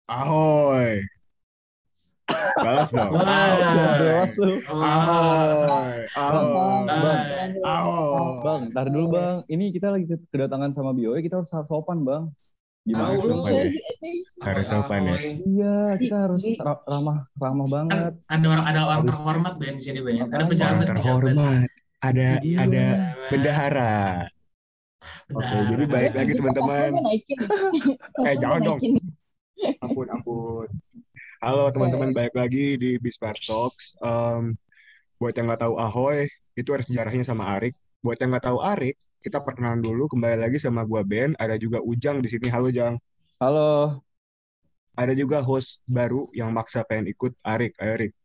Ahoy. Balas dong. Gak Ahoy. jelas lu. Wah. Ahoy. Bang, bang, Ahoy. bang, Ahoy. ntar dulu bang. Ini kita lagi kedatangan sama BOE, kita harus sopan bang. Gimana Tahu Harus sih? lu. sopan ya. Ahoy Harus sopan ya. ahoy. Iya, kita harus Di- ramah, ramah Kan banget. ada orang Harus terhormat Ben di sini Ben. Ada Makanya. orang pejabat. terhormat. Ada Iya, ada Pejabat. bendahara. Oke, jadi Benar. Gue baik lagi gitu kosnya teman-teman. gue naikin. Kosnya gue Jangan dong. naikin. Ampun, ampun. Halo teman-teman, Eh, balik lagi di Bispar Talks. Buat yang nggak tahu Ahoy, itu ada sejarahnya sama Arik. Buat yang nggak tahu Arik, kita perkenalan dulu. Kembali lagi sama gua Ben. Ada juga Ujang di sini. Halo Jang. halo. Ada juga host baru yang maksa pengen ikut Arik. Ayo Arik.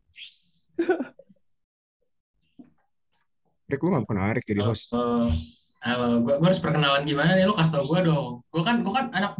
Arik, lu nggak kenal Arik jadi Halo. host. Halo. Gue harus perkenalan gimana nih? Lu kasih tau gue dong. Gue kan anak.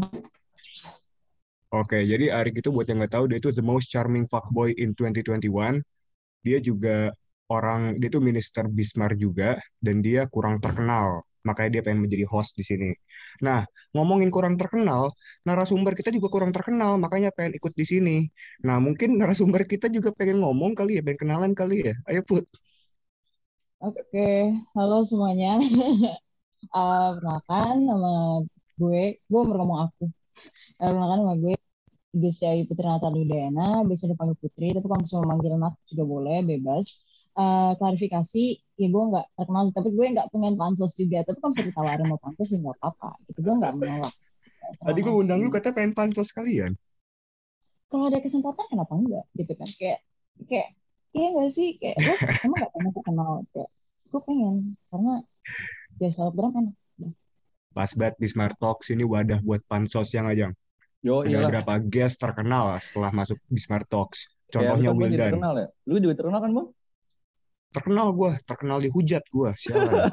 Oke, jadi Arik itu buat yang nggak tahu, dia itu the most charming fuckboy in 2021. Dia juga dia tuh minister Bismarck juga, dan dia kurang terkenal. Makanya dia pengen menjadi host di sini. Nah, ngomongin kurang terkenal, narasumber kita juga kurang terkenal, makanya pengen ikut di sini. Nah, mungkin narasumber kita juga pengen ngomong kali ya, pengen kenalan kali ya. Ayo Put. Oke, halo semuanya. Perkenalkan nama gue baru ngomong aku. Perkenalkan nama gue Gus Ayu Putri Natali Udayana, biasa dipanggil Putri, tapi kalau misalnya manggil Nat juga boleh, bebas. Klarifikasi, ya gue nggak terkenal, tapi gue nggak pengen pansos juga. Tapi kalau misalnya ditawarin mau pansos, ya nggak apa-apa. Gitu, gue nggak menolak. Tadi Terima gue undang lu kasih. katanya pengen pansos kalian. Kalau ada kesempatan, kenapa enggak? Gitu kan, kayak, iya nggak sih? Kayak, lo emang nggak pengen terkenal? Kayak, gue pengen, karena jadi selebgram enak. Pas banget Bismarck Talks ini wadah buat pansos yang aja. Yo, Ada iyalah. berapa guest terkenal setelah masuk Bismarck Talks. Ya, lu Contohnya kan pasti Wildan. terkenal ya. Lu juga terkenal kan, bang? Terkenal gue, terkenal dihujat gue, sialan.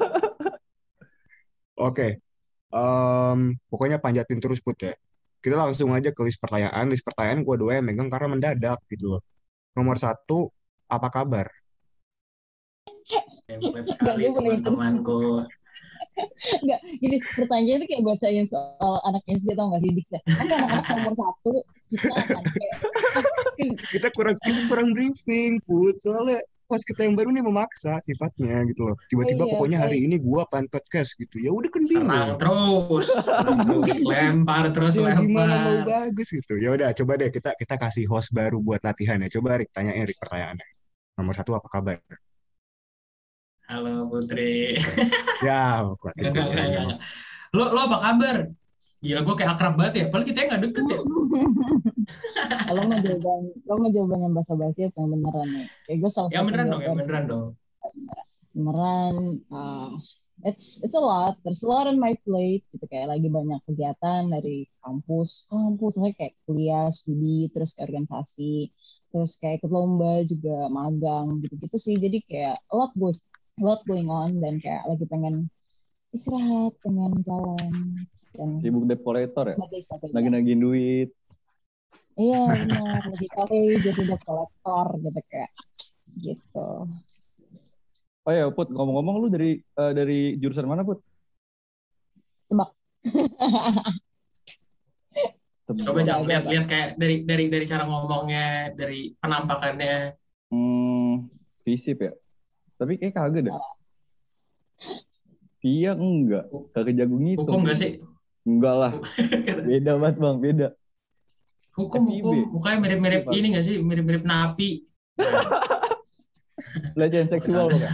Oke, pokoknya panjatin terus Put ya. Kita langsung aja ke list pertanyaan. List pertanyaan gue doang yang megang karena mendadak gitu loh. Nomor satu, apa kabar? Template Enggak, sekali gue boleh terus. teman-temanku. Enggak, jadi pertanyaan itu kayak bacain soal anak SD tau gak sih? Dikta. Oke, anak-anak nomor satu, kita akan kayak, Kita kurang briefing Put. Soalnya pas kita yang baru nih memaksa sifatnya gitu loh. oh Tiba-tiba iya, pokoknya hari baik. ini gue pan podcast gitu. Ya udah kan Serang bingung. terus, lempar terus, Ya gimana mau lempar. bagus gitu. Ya udah coba deh kita kasih host baru buat latihan ya. Coba Rick tanyain Rick pertanyaannya. Nomor satu apa kabar? Halo Putri. Ya, kuat itu Enggak, kayaknya mah. enggak. Lo apa kabar? Gila, gue kayak akrab banget ya. Padahal kita nggak deket ya. Lo mau jawaban yang basa-basi apa yang beneran nih? Kayak gue salah Yang satu beneran dong, yang versi beneran dong. beneran. It's a lot. There's a lot on my plate. Gitu kayak lagi banyak kegiatan dari kampus, maksudnya kayak kuliah, studi, terus kayak organisasi, terus kayak ikut lomba juga, magang, gitu-gitu sih. Jadi kayak a lot going on dan kayak lagi pengen istirahat, pengen jalan dan Sibuk debt collector ya. Lagi sebagainya. nagih duit. Iya benar, lagi kali jadi debt collector gitu kayak gitu. Oh ya, Put, ngomong-ngomong lu dari jurusan mana, Put? Tebak. Coba Enggak, jangan enggak, enggak. lihat-lihat kayak dari cara ngomongnya, dari penampakannya. Visip ya. Tapi kayak kagak deh. Iya enggak. Kagak jago ngitung. Hukum nggak sih? Enggak lah. Beda banget bang, beda. Hukum, FIB. mukanya mirip-mirip FIB, ini nggak sih? Mirip-mirip napi. Pelecehan seksual kan?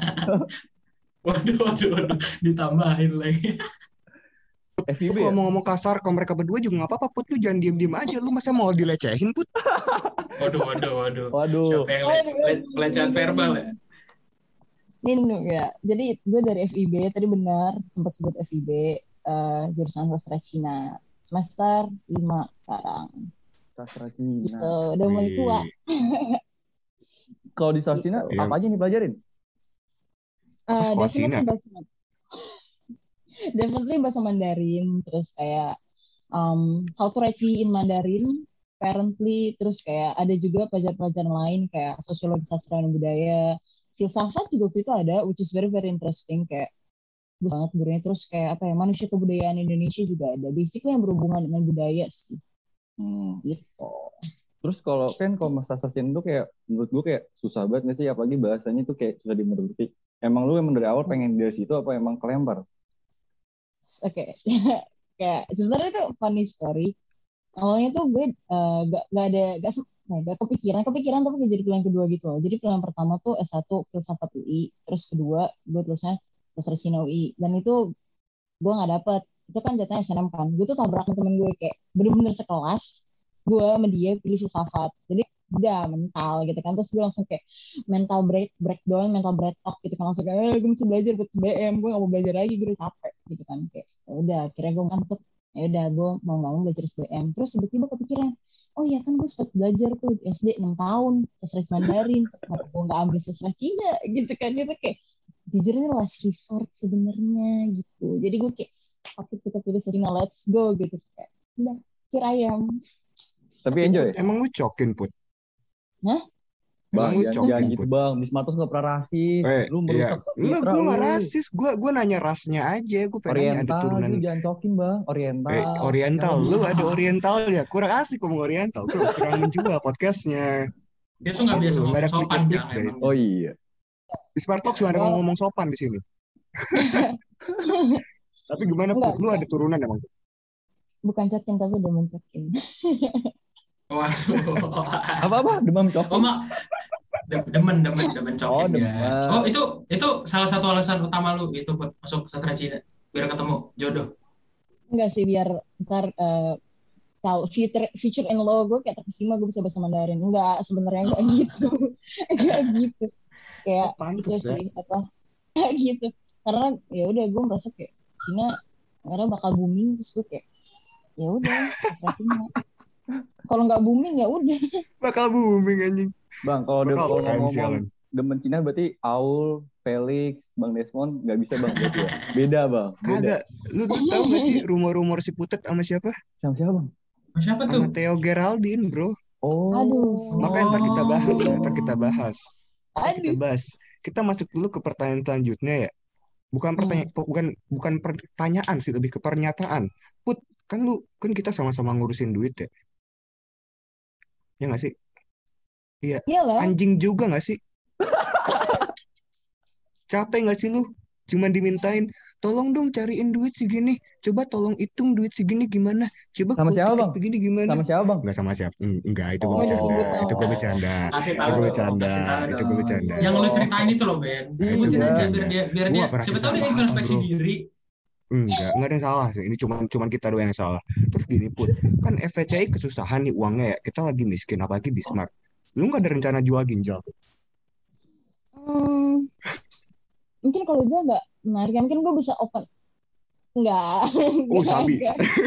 Waduh, ditambahin lagi. FIB Kalau ya? mau ngomong kasar ke mereka berdua juga nggak apa-apa Put. Lu jangan diem-diem aja. Lu masa mau dilecehin Put? Waduh. Waduh. Siapa yang pelecehan verbal ya? Ini ya. Jadi gue dari FIB, tadi benar sempat sebut FIB, jurusan sastra Cina. Semester 5 sekarang. Sastra Gitu, Cina. udah mulai tua. Kalau di sastra Cina, Gitu. apa aja nih pelajarin? Apa sekolah Cina? Definitely bahasa Mandarin, terus kayak how to write in Mandarin, apparently, terus kayak ada juga pelajaran-pelajaran lain kayak sosiologi sastra dan budaya, filsafat juga waktu itu ada, which is very very interesting, kayak bagus banget gurunya. Terus kayak apa ya, manusia kebudayaan Indonesia juga ada, basically yang berhubungan dengan budaya sih. Gitu. Terus kalau masa sustain itu kayak menurut gue kayak susah banget nggak sih, apalagi bahasanya tuh kayak susah dimengerti. Emang lu emang dari awal pengen dari situ apa emang kelempar? Oke. Kayak sebenarnya itu funny story. Awalnya tuh gue gak kepikiran tapi gak jadi pilihan kedua gitu loh. Jadi pilihan pertama tuh S1 Filsafat UI, terus kedua gue tulisnya Sastra Cina UI, dan itu gue nggak dapet. Itu kan jatahnya SNM kan. Gue tuh tabrak sama temen gue kayak bener-bener sekelas. Gue sama dia pilih filsafat. Jadi udah mental gitu kan. Terus gue langsung kayak breakdown, mental breakdown gitu kan. Langsung kayak gue mesti belajar buat SBM. Gue gak mau belajar lagi, gue udah capek gitu kan. Kayak udah akhirnya gue ngantuk. Ya udah gue mau nggak mau belajar SBM. Terus tiba-tiba kepikiran, oh iya kan gue sempat belajar tuh di SD 6 tahun sastra Mandarin. Kenapa gue nggak ambil sastra Cina gitu kan. Gitu kayak jujur ini last resort sebenarnya gitu. Jadi gue kayak waktu kita pilih Cina, let's go gitu kayak udah kira ayam. Tapi enjoy. Emang lu cokin Put? Hah? Bang, Emang lu jangan cokin gitu Put? bang. Bismartus nggak pernah rasis. Lu Iya. merusak Enggak, citra gue nggak lu. rasis. Gue nanya rasnya aja. Gue pengen nanya ada Oriental, turunan lu jangan cokin bang. Oriental. Oriental. Lu ada Oriental ya? Kurang asik ngomong Oriental. Kurang menjual podcastnya. Dia tuh nggak biasa Nggak ada ngomong sopan klik-klik Jang deh. emang. Oh iya. Di Smart Talk cuma ada ngomong sopan di sini. Tapi gimana Put? Lu ada turunan emang? Bukan cokin tapi udah mencokin. Waduh. Apa? Demam Oh cokin? mak, demen Oh, cokin ya. demam. Oh itu salah satu alasan utama lu itu buat masuk sastra Cina biar ketemu jodoh. Enggak sih, biar ntar tahu future in law gue kayak terkesima gue bisa bahasa Mandarin. Enggak, sebenarnya enggak gitu. Enggak gitu. Kayak itu Pantes ya. sih apa kayak gitu. Karena ya udah gue merasa kayak Cina karena bakal booming, terus gue kayak ya udah sastra Cina. Kalau nggak booming ya udah. Bakal booming anjing. Bang, kalau Bakal keren sih, ngomong Alan. demen Cina berarti Aul, Felix, Bang Desmond nggak bisa bang berarti ya? Beda bang, beda. Kagak. Lu tahu gak sih rumor-rumor si Putet sama siapa? Sama siapa bang? Siapa Sama tuh? Theo Geraldine, bro. Oh. Aduh. Makanya ntar kita bahas ya. Ntar kita bahas. Aduh. Kita masuk dulu ke pertanyaan selanjutnya ya. Bukan pertanyaan sih, lebih ke pernyataan. Put, kan kita sama-sama ngurusin duit ya. Ya nggak sih? Iya. Iyalah. Anjing juga nggak sih? Capek nggak sih lu? Cuman dimintain, tolong dong cariin duit segini. Coba tolong hitung duit segini gimana. Coba Sama kalau siapa tiket bang? begini gimana. Sama siapa bang? Nggak sama siapa. Enggak, itu gue Oh. bercanda. Itu gue bercanda. Kasih Itu tahu gue dong, bercanda. kasih tahu Itu dong. gue bercanda. Yang lu ceritain itu loh Ben. Nah, itu Sebutin gue aja bercanda. biar Gua dia nggak pernah siapa tahu cerita dia apa-apa, introspeksi bro. diri. Enggak ada yang salah. Ini cuman kita doang yang salah. Terus gini Put, kan FVCI kesusahan nih uangnya ya. Kita lagi miskin, apalagi Bismart. Lu nggak ada rencana jual ginjal? Mungkin kalau jual nggak menarik, mungkin gue bisa open. Enggak. Oh, Sabi.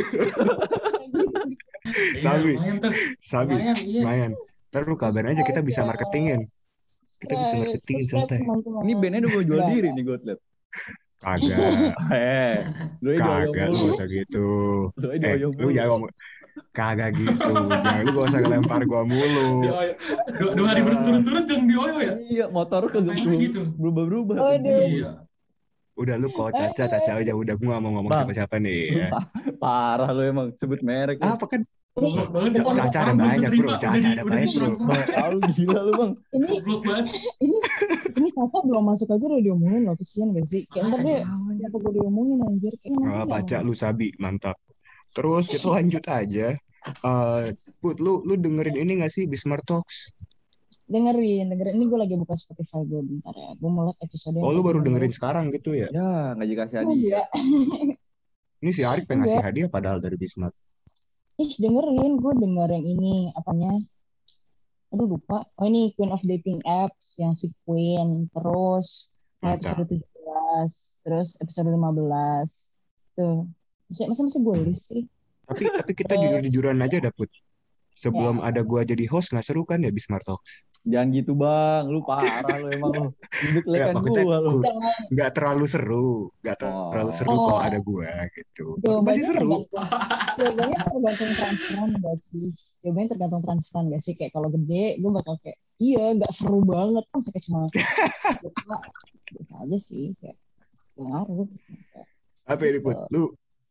Sabi. Lumayan tuh. Sabi. Lumayan, iya. Lumayan. Ntar lu kabarin aja, kita bisa marketingin. Kita bisa marketingin santai. Ini bandnya udah mau jual diri nih gue liat. Kagak. Lu Kagak, lu gak usah gitu. Lu jangan ngomong. Kagak gitu. Jangan, lu gak usah ngelempar gua mulu. Dua hari berturut-turut jangan dioyo ya. Iya, motor kagak gitu. berubah-berubah. Iya. Udah lu kok Caca aja. Udah gua gak mau ngomong siapa-siapa nih ya. Parah lu emang sebut merek. Apa kan? Goblok banget. Caca ada banyak bro. Caca ada banyak bro. Lu gila lu bang. Goblok banget. Ini Caca belum masuk aja udah diomongin loh, kesian gak sih? Kayak ntar deh siapa gue diomongin anjir. Baca lu Sabi, mantap. Terus kita lanjut aja. Put, lu dengerin ini gak sih Bismart Talks? Dengerin. Ini gue lagi buka Spotify gue bentar ya. Gue mulai episode. Oh, lu baru dengerin sekarang gitu ya? Ya, nggak dikasih hadiah. Ini si Arik pengen ngasih hadiah padahal dari Bismart. Dengerin. Gue denger yang ini, apanya? Aduh lupa. Oh ini Queen of Dating Apps yang si Queen. Terus episode 17. Terus episode 15. Tuh. Masa gue list sih? Tapi kita jujur-jujuran aja dapet. Sebelum ada gua jadi host nggak seru kan ya Bismart Talks? Jangan gitu bang, lu parah lu emang lu. Ya, Gua lu. Nggak terlalu seru, kalau ada gua gitu. Tapi masih seru. Jawabannya tergantung transferan gak sih? Jawabannya tergantung transferan gak sih? Kayak kalau gede, gue bakal kayak iya nggak seru banget kan, kayak cuma biasa aja sih, kayak ngaruh. Apa ini Put? Lu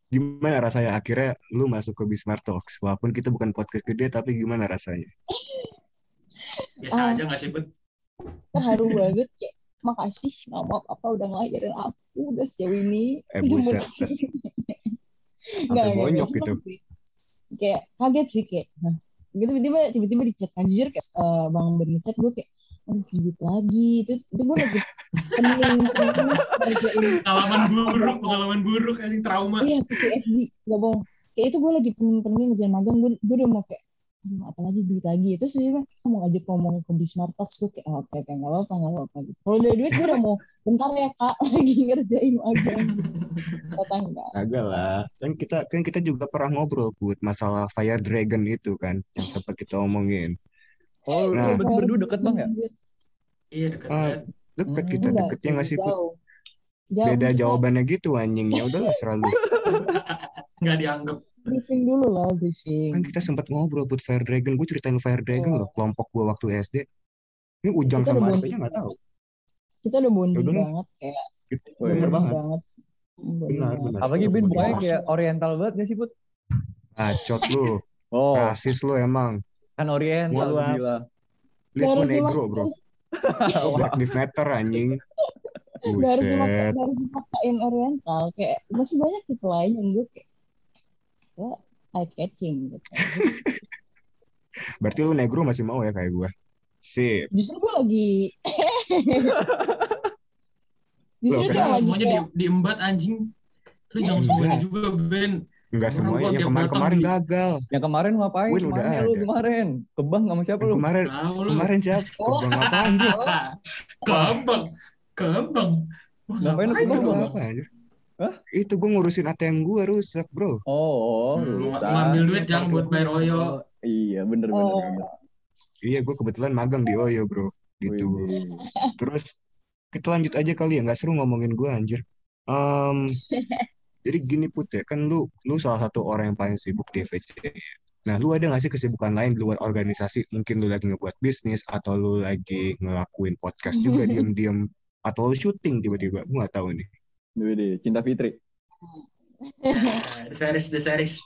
Gimana rasanya akhirnya lu masuk ke Bismart Talks? Walaupun kita bukan podcast gede, tapi gimana rasanya? Biasa Ah, aja nggak sih, Bud? terharu banget kayak makasih nama apa udah ngajarin aku udah sejauh ini. Buset, Nggak sampai bonyok seneng gitu. sih. Kayak kaget sih kayak nah, gitu tiba-tiba di chat anjir kayak bang Ben chat gue kayak aduh hidup lagi itu gue lagi pening ngerjain Pengalaman buruk, anjing trauma. iya PTSD gak bohong kayak itu gue lagi pening ngerjain magang gue udah mau kayak aduh apalagi duit lagi itu sih mah mau ngajak ngomong ke Bismart Talks gue kayak oke nggak apa gitu kalau udah duit gue udah mau bentar ya kak lagi ngerjain magang gitu kata enggak Agak lah. Kan kita juga pernah ngobrol Put masalah Fire Dragon itu kan yang sempat kita omongin. Oh, lu Nah, berarti berdua deket bang ya? Iya deket ah, banget. deket kita enggak deketnya sih nggak sih Put? jauh Beda maksudnya jawabannya gitu anjing. Ya udahlah selalu. Nggak dianggap. briefing dulu lah briefing. Kan kita sempat ngobrol Put Fire Dragon. Gue ceritain lu Fire Dragon loh. Kelompok gue waktu SD. Ini Ujang Kita udah sama Arif bonding aja nggak tahu. kita udah Ya bonding udahlah. banget kayak Wih. Bener bonding banget. banget sih. Bonding Benar, banget. benar. Apalagi Itu Ben bonding mukanya banget. kayak oriental banget gak sih Put? Bacot lu. Oh, Rasis lu emang. kan oriental Mau lu gue apa? bilang. Lihat gue Gak harus negro bro. Black Lives Matter anjing. Buset. gak harus dipaksain oriental kayak masih banyak tipe lain yang gue kayak ya, eye catching gitu. Berarti lu negro masih mau ya kayak gue? Sip. Justru gue lagi Loh, justru Lu kayak jangan lagi semuanya kayak diembat anjing. Lu jangan Enggak. semuanya juga, Ben. Enggak Orang semuanya. gua Yang tiap kemarin-kemarin datang gagal. Yang kemarin ngapain? Win udah Kemana lu ada. kemarin? Ke bank sama siapa Yang lu? Tahu lu. kemarin siapa? oh, Kebang apaan bro? Kebang. Kebang. Wah, Ngapain lu ke ngapain bank, lu? Bang? Apa aja? Hah? Itu gue ngurusin ATM gue rusak bro. Oh, rusak. Ngambil duit Iya, jangan buat bayar Oyo. Oh, iya, bener. Iya gue kebetulan magang di Oyo bro. Gitu. Wih. Terus kita lanjut aja kali ya. Nggak seru ngomongin gue anjir. Em, jadi gini Put ya. Kan lu salah satu orang yang paling sibuk di FVC. Nah, lu ada nggak sih kesibukan lain di luar organisasi? Mungkin lu lagi ngebuat bisnis atau lu lagi ngelakuin podcast juga diam-diam atau lu syuting tiba-tiba? Gue nggak tahu nih. Wih, Cinta Fitri. The series.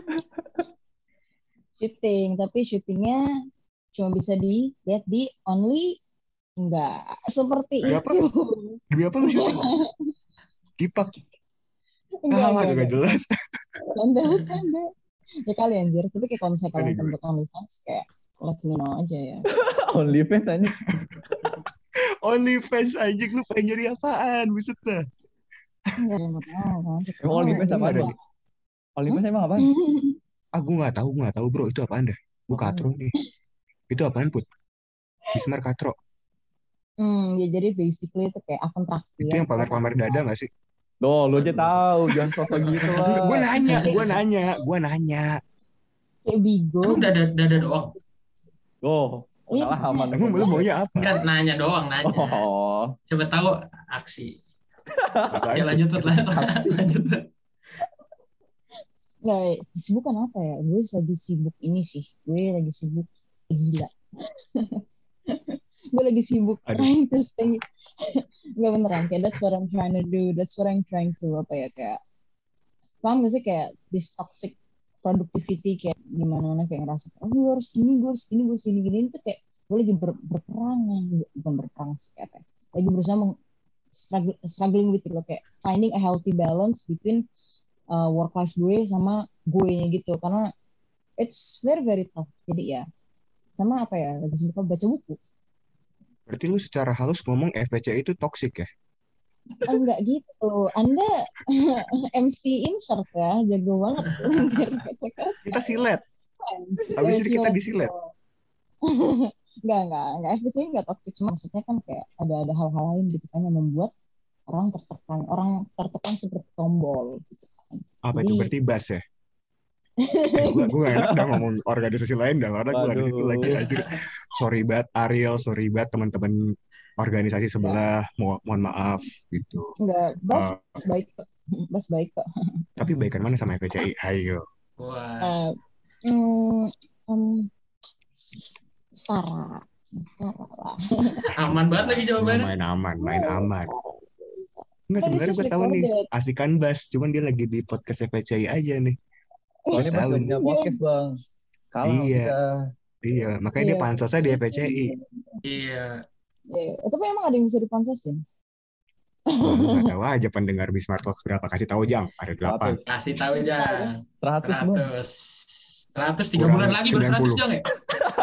syuting tapi syutingnya cuma bisa dilihat di Only enggak seperti Di apa? itu Demi apa lu syuting? Kipak. enggak Gak jelas. canda ya kali anjir tapi kayak kalau misalnya kalian Aneh gue. bentuk OnlyFans kayak let me know aja ya OnlyFans aja. OnlyFans anjing lu pengen jadi apaan? Buset dah. enggak mau tahu kan Emang OnlyFans apa Nggak ada Bang? nih. OnlyFans emang apa? Gue nggak tahu bro. Itu apaan dah? Gue katro nih. Itu apaan Put? Bismar katro. ya jadi basically itu kayak akun traktir Itu yang pamer-pamer dada nggak sih? Tuh, lu aja tahu, jangan sosok gitu lah. Gue nanya. kayak bigo Emang dada doang. Oh, pengalaman. Emang lu maunya apa? Enggak nanya doang, nanya. Oh, Siapa tahu aksi. Apaan, Ya Put? lanjut lah. Lanjut. nggak kesibukan apa ya gue lagi sibuk ini sih gue lagi sibuk gila gue lagi sibuk Aduh. trying to stay nggak beneran kayak that's what I'm trying to do that's what I'm trying to apa ya kayak paham gak sih kayak this toxic productivity kayak gimana kayak ngerasa oh gue harus gini itu kayak gue lagi berperang bukan berperang sih kayak apa ya, lagi berusaha struggling with it, kayak finding a healthy balance between work life gue sama gue gitu karena it's very very tough jadi ya sama apa ya lagi sibuk baca buku. Berarti lu secara halus ngomong FVC itu toxic ya? Enggak gitu Anda MC insert ya jago banget Kita silet. Habis ini kita disilet. enggak FBC enggak toxic cuma maksudnya kan kayak ada hal-hal lain gitu kan yang membuat orang tertekan seperti tombol gitu kan. Apa itu? Berarti bas ya? Gue gak enak udah ngomong organisasi lain dah karena gue di situ lagi aja. Sorry banget Ariel, sorry banget teman-teman organisasi sebelah, mohon maaf gitu. Enggak, Bas baik kok. Tapi baikan mana sama FPCI? Ayo. Wah. Setara lah. Aman banget lagi jawabannya. Main aman. Enggak, Kan this sebenarnya is gue tahu nih recorded. Asikan Bas, cuman dia lagi di podcast FPCI aja nih. Oh, ini pas Tahu gak nih. punya podcast bang. Kalah sama Iya, kita. iya, makanya dia pansosnya di FPCI. Iya. Tapi emang ada yang bisa dipansasin? Wah, lu nggak tahu aja pendengar Bismart Talks berapa? Kasih tahu Jang, ada 8. 100. Kasih tahu Jang. 100 bang. 100 3 Kurang bulan lagi baru 100 90. Jang ya?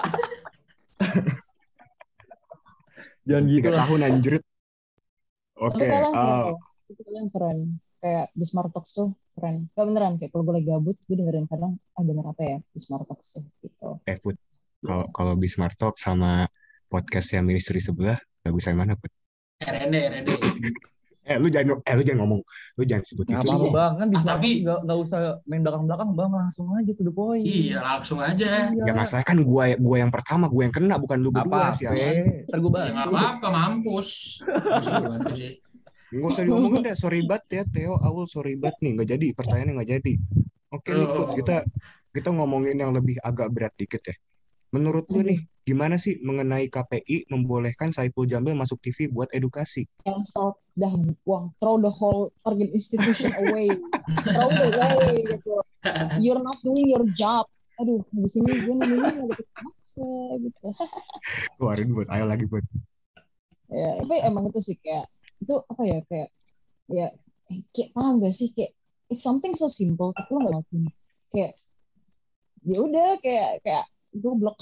Jangan gitu 3 lah. tahun anjrit. Oke, Tapi kalian keren loh. Itu kalian keren. Kayak Bismart Talks tuh keren. Gak beneran, kayak kalau gue lagi gabut, gue dengerin kadang, denger apa ya Bismart Talks tuh, gitu. Put. Kalau Bismart Talks sama podcast yang ministry sebelah, bagusan mana, Put? RND. Lu jangan ngomong. Lu jangan sebut Nggak itu. apa-apa bang, kan di Smart tapi- Talks nggak usah main belakang-belakang bang, langsung aja to the point. Iya, langsung aja. Ya masalah kan gua yang pertama, gua yang kena, bukan lu berdua sih. Ntar gue Ya nggak bantu. apa-apa, mampus. Masa gua bantu sih. Nggak usah diomongin deh, sorry banget ya Theo, Awul sorry banget nih, nggak jadi, pertanyaannya nggak jadi. Oke nih Put, kita ngomongin yang lebih agak berat dikit ya. Menurut lu nih, gimana sih mengenai KPI membolehkan Saipul Jamil masuk TV buat edukasi? Cancel, dah buang, throw the whole organ institution away. Throw it away, gitu. You're not doing your job. Aduh, di sini gue nanya gitu. Maksa, gitu. Keluarin Put, ayo lagi Put. Ya, tapi emang itu sih kayak, itu apa ya, kayak paham gak sih, kayak it's something so simple tapi lo nggak ngelakuin, kayak ya udah kayak goblok.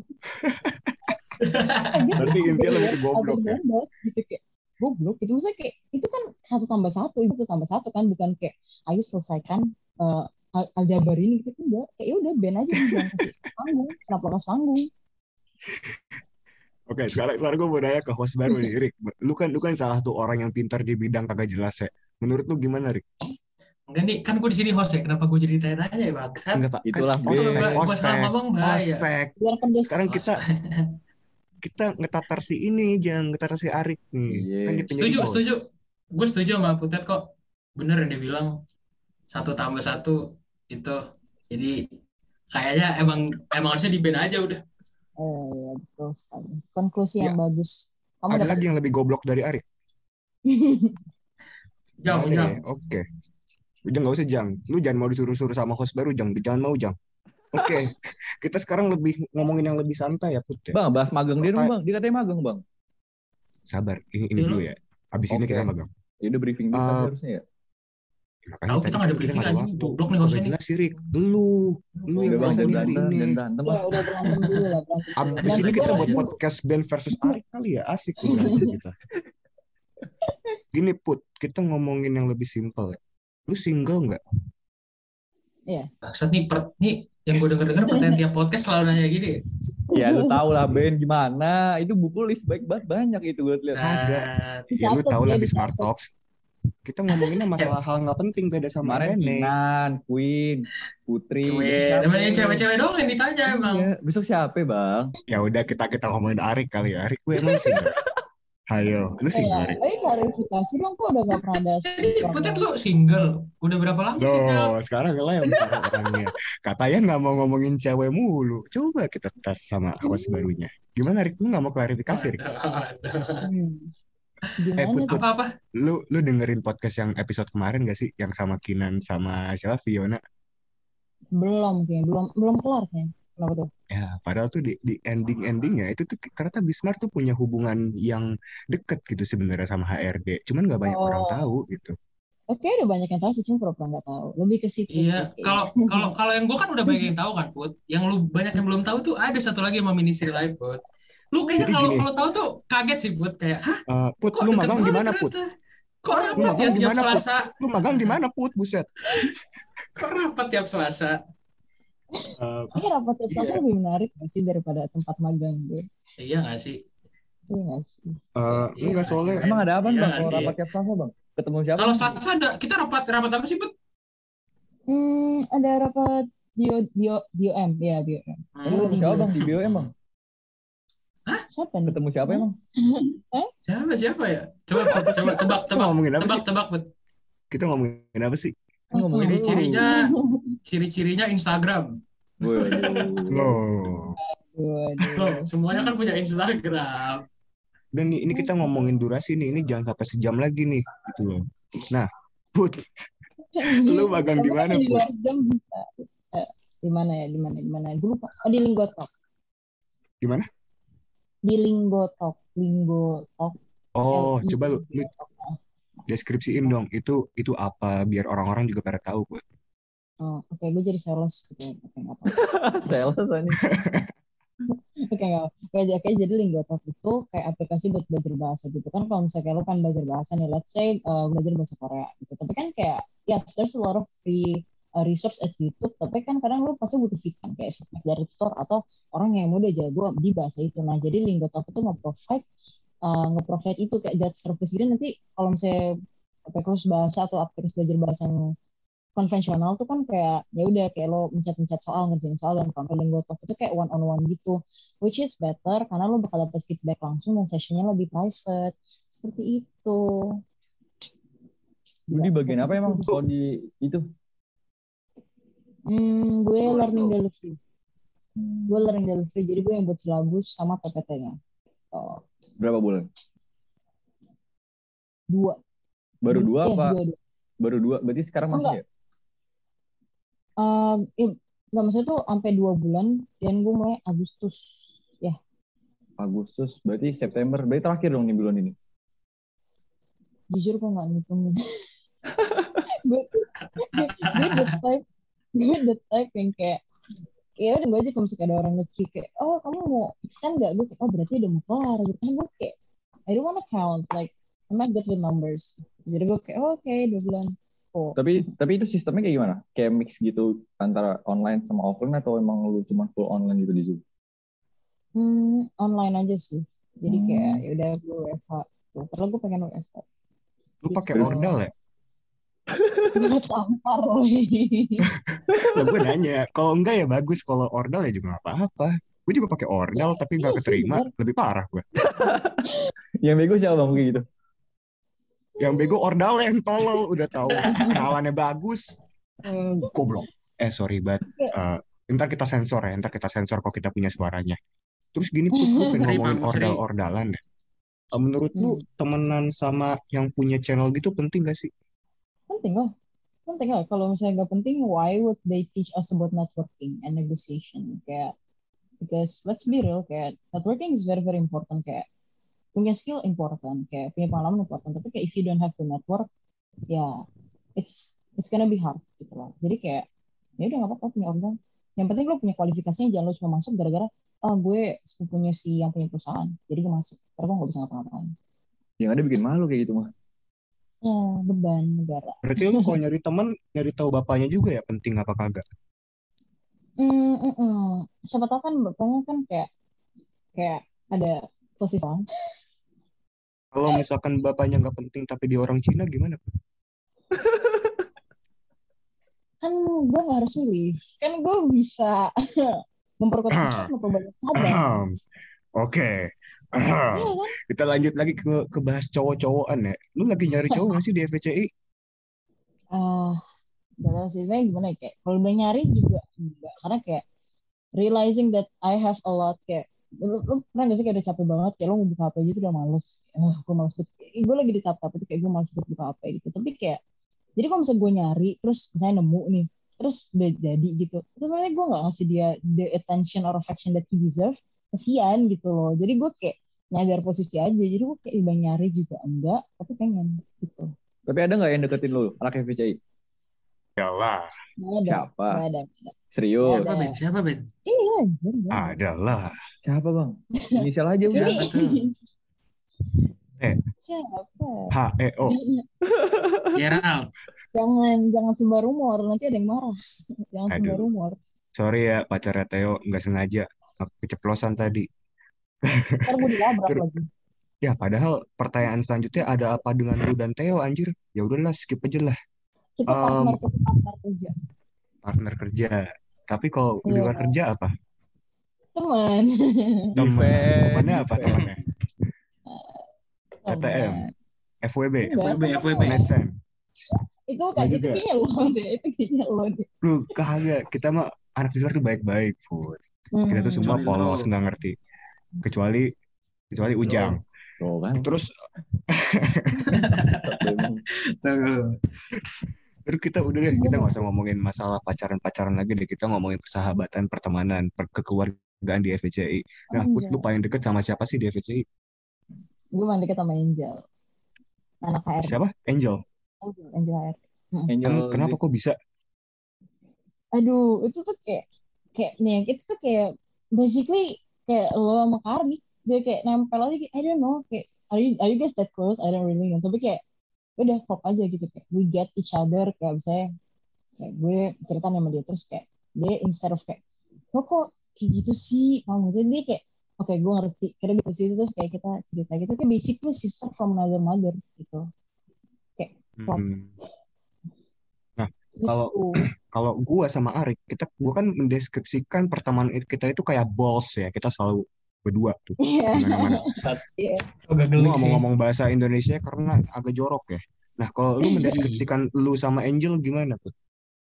Berarti intinya lebih ke goblok ya. Gitu, kayak goblok gitu, maksudnya kayak itu kan 1+1 kan, bukan kayak ayo selesaikan aljabar ini gitu, enggak, kayak ya udah ban aja, jangan kasih panggung, kenapa kasih panggung. Oke, sekarang gue mau nanya ke host baru nih, Rick. Lu kan salah satu orang yang pintar di bidang kagak jelas ya. Menurut lu gimana, Rick? Enggak nih, kan gue di sini host ya. Kenapa gue jadi tanya-tanya ya, Bangsat? Enggak, Pak. Itulah, Kan Gua salah ngomong bahaya. ospek. Biar pedes. Sekarang kita ngetatar si ini, jangan ngetatar si Arik nih. Iya. Kan dia penjadi host. Setuju. Gue setuju sama Putet kok. Bener yang dia bilang 1+1 itu. Jadi kayaknya emang harusnya di ban aja udah. Ya, betul sekali. Konklusi yang Ya. bagus. Kamu Ada dapat lagi yang lebih goblok dari Arik? Jang. Ada ya? Oke. Ujang nggak usah Jang. Lu jangan mau disuruh-suruh sama host baru Jang. Jangan mau Jang. Oke. Kita sekarang lebih ngomongin yang lebih santai ya Put ya. Bang, bahas magang dia dong bang. Dia katanya magang bang. Sabar. Ini dulu ya. Abis ini Oke. kita magang. Ya udah briefing dulu kan harusnya ya. Makanya Tahu tadi kita nggak ada kan briefing nggak ada anjing. waktu. Goblok nih Udah hostnya nih. jelas sih Rick. Lu yang Udah bang, merasa jangan di hari berantem, ini. jangan berantem ya lah. udah berantem dulu lah, berantem. Abis ini kita buat Berantem. podcast Ben versus Arik kali ya. Asik nih berantem kita. Gini Put, kita ngomongin yang lebih simpel ya. Lu single nggak? Bangsat nih, yang gue denger pertanyaan tiap podcast selalu nanya gini. Ya lu tau lah Ben gimana. Itu buku list baik banget banyak itu gue lihat. Ada. Ya lu Dicatat, tau lah ya, di Smart dicatat. Talks. Kita ngomonginnya masalah hal nggak penting beda sama Kemarin Rene. Kinan, Queen, Putri. Cewek, besok siapa? namanya cewek-cewek doang yang ditanya emang. Iya, besok siapa bang? Ya udah kita ngomongin Arik kali ya. Arik gue emang single. Hayo, lu single Arik? Klarifikasi dong, kok udah gak pernah ada. Jadi Putet lu single? Udah berapa lama single? Loh, sekarang ngelempar orangnya. Katanya nggak mau ngomongin cewek mulu. Coba kita tes sama host barunya. Gimana Rik? Lu nggak mau klarifikasi Rik? Gimana Put, tuh? Apa? Lu dengerin podcast yang episode kemarin gak sih? Yang sama Kinan sama siapa? Fiona? Belum kelar kayaknya. Kenapa tuh? Ya, padahal tuh di endingnya itu tuh ternyata Bismart tuh punya hubungan yang deket gitu sebenarnya sama HRD. Cuman nggak banyak orang tahu gitu. Oke, udah banyak yang tahu sih, cuma pura-pura nggak tahu. Lebih ke situ. Iya, kalau yang gue kan udah banyak yang tahu kan, Put. Yang lu banyak yang belum tahu tuh ada satu lagi sama Ministry Live, Put. Lu kayaknya Jadi kalau gini. tahu tuh kaget sih, Put. Kayak, hah? Put, Kok lu deket magang di banget mana Put? ternyata? Kok Lu rapat magang ya di tiap mana, Put? Selasa? Lu magang di mana Put? Buset. Kok rapat tiap Selasa? Ini rapat tiap Selasa lebih menarik nggak sih daripada tempat magang gue? Iya nggak sih? Iya nggak sih? Enggak soalnya. Emang ada apa Iya bang nggak kalau sih? rapat tiap Selasa bang? Ketemu siapa? Kalau Selasa ada, kita rapat apa sih, Put? Ada rapat BOM, ya BOM. Ketemu siapa bang di BOM bang? Siapa nih? Ketemu siapa emang? Siapa ya? Coba tebak, Kita ngomongin apa sih? tebak, Put. Kita ngomongin apa sih? Ngomongin Ciri-cirinya Instagram. Waduh. Loh. Loh, semuanya kan punya Instagram. Dan nih, ini kita ngomongin durasi nih, ini jangan sampai sejam lagi nih, gitu loh. Nah, Put, lu magang di Tapi kan mana, di Put? luar jam bisa. Di mana ya? Di mana? Gue lupa. Oh, di Linggo Talk. Di mana? Di Linggo Talk. Linggo Talk. Oh, coba lu LINGO Talk. deskripsiin dong, itu apa biar orang-orang juga pada tahu, Put. Oh, oke, gue jadi sales gitu. Oke, nggak apa. Sales ini. Oke, nggak apa. Oke, jadi Linggo Talk itu kayak aplikasi buat belajar bahasa gitu kan. Kalau misalnya lo kan belajar bahasa nih, let's say belajar bahasa Korea gitu. Tapi kan kayak, yes, there's a lot of free resource at YouTube. Tapi kan kadang lo pasti butuh feedback kayak feedback dari tutor atau orang yang udah jago di bahasa itu. Nah, jadi Linggo Talk itu nge-provide itu kayak that service. Jadi nanti kalau misalnya kursus bahasa atau aplikasi belajar bahasa yang konvensional tuh kan kayak ya udah kayak lo mencet-mencet soal ngerjain soal dan kalau Linggo Talk itu kayak one on one gitu, which is better karena lo bakal dapet feedback langsung dan sessionnya lebih private seperti itu. Lu di bagian apa emang Gitu. kalau di itu? Gue learning delivery jadi gue yang buat silabus sama PPT-nya. Oh, Berapa bulan? 2. Baru 2 apa? 2. Baru 2. Berarti sekarang masih Enggak. ya? Nggak maksudnya tuh sampai 2 bulan dan gue mulai Agustus ya. Agustus, berarti September. Berarti terakhir dong nih bulan ini. Jujur gue nggak ngitungin. gue the type yang kayak ya udah gue aja kalau misalnya ada orang nge-check kayak oh kamu mau extend nggak, gue kayak oh berarti udah mau kelar gitu kan. Gue kayak I don't wanna count, like I'm not good with numbers, jadi gue kayak oh, oke 2 bulan. Tapi itu sistemnya kayak gimana? Kayak mix gitu antara online sama offline atau emang lu cuma full online gitu di Zoom? Online aja sih, jadi kayak ya udah gue WFH tuh, padahal gue pengen WFH. Lu pakai Gitu. ordal ya? Gue tampar loh. Lah gue nanya, kalau enggak ya bagus, kalau ordal ya juga nggak apa-apa. Gue juga pakai ordal Ya, tapi nggak iya sih, keterima, bener. lebih parah gue. Yang bego siapa bang kayak gitu? Yang bego ordal yang tolol, udah tahu kenalannya bagus, goblok. Sorry banget. Ntar kita sensor ya, ntar kita sensor kok kita punya suaranya. Terus gini Put, gue pengen Free, ngomongin Bang, free. ordal-ordalan ya. Menurut lu temenan sama yang punya channel gitu penting gak sih? Penting lah. Kalau misalnya nggak penting, why would they teach us about networking and negotiation? Kayak because let's be real, kayak networking is very very important. Kayak punya skill important, kayak punya pengalaman important. Tapi kayak if you don't have the network, ya it's gonna be hard gitu loh. Jadi kayak ya udah nggak apa-apa punya organ. Yang penting lo punya kualifikasinya, jangan lo cuma masuk gara-gara gue sepupunya si yang punya perusahaan, jadi gue masuk. Karena gue nggak bisa ngapa-ngapain. Yang ada bikin malu kayak gitu mah. Ya beban negara. Berarti lu kalau nyari teman, nyari tahu bapaknya juga ya penting apa kagak? Siapa tahu kan bapaknya kan kayak ada posisi. Kalau misalkan bapaknya nggak penting tapi dia orang Cina gimana Put? Kan gue nggak harus milih, kan gue bisa memperkuat kita, memperbanyak sahabat. Oke. Iya kan? Kita lanjut lagi ke bahas cowok-cowokan ya. Lu lagi nyari cowok nggak sih di FVCI? Gak tau sih sebenarnya gimana ya, kayak kalau udah nyari juga enggak, karena kayak realizing that I have a lot, kayak lu pernah gak sih kayak udah capek banget kayak lu mau buka HP aja tuh udah males. Gue males banget, gue lagi di tahap itu kayak gue males banget buka HP gitu. Tapi kayak jadi kalau misalnya gue nyari terus misalnya nemu nih terus udah jadi gitu, terus sebenarnya gue nggak ngasih dia the attention or affection that he deserve, kesian gitu loh. Jadi gue kayak nyadar posisi aja, jadi gue kayak udah nyari juga enggak tapi pengen gitu. Tapi ada nggak yang deketin lu anak FVCI? Adalah. Siapa? Nggak ada. Serius? Siapa Ben? Iya. Adalah. Siapa bang? Inisial aja udah. Siapa tuh? Siapa? HEO. Gerald. Jangan sebar rumor, nanti ada yang marah. Jangan sebar Aduh. rumor. Sorry ya pacarnya Theo, nggak sengaja keceplosan tadi. Ntar gue dilabrak lagi. Ya padahal pertanyaan selanjutnya ada apa dengan lu dan Theo anjir? Ya udahlah skip aja lah. Kita partner kerja. Partner kerja. Tapi kalau di luar kerja apa? Teman. Temannya apa Event. temannya? TTM, FWB, FWB. MSN. Itu kayaknya lo deh. Lu kagak, kita mah anak di luar tuh baik-baik, Put. Kita tuh semua Kecuali polos lo. nggak ngerti. Kecuali Ujang. Tuh kan. Terus Tuh. terus kita udah deh, kita nggak usah ngomongin masalah pacaran lagi deh, kita ngomongin persahabatan, pertemanan, kekeluargaan di FVCI. Nah, Put, lu paling deket sama siapa sih di FVCI? Gue main deket sama Angel, anak HR. Siapa? Angel. Angel HR. Angel Kenapa kok bisa? Aduh, itu tuh kayak nih, itu tuh kayak basically kayak lo sama Kardi, dia kayak nempel aja, kayak I don't know, kayak are you guys that close? I don't really know. Tapi kayak udah klop aja gitu, kayak we get each other. Kayak misalnya kayak gue cerita sama dia, terus kayak dia instead of kayak lo kok kayak gitu sih, kamu jadi dia kayak oke, gue ngerti. Karena di posisi itu terus kayak kita cerita gitu, kayak basically sister from another mother gitu, kayak klop Nah, kalau gitu. kalau gue sama Arik, gue kan mendeskripsikan pertemanan kita itu kayak balls ya, kita selalu berdua tuh Iya. di mana-mana. Iya. Agak Gue geli nggak mau sih. ngomong bahasa Indonesia karena agak jorok ya. Nah, kalau lu mendeskripsikan lu sama Angel gimana tuh?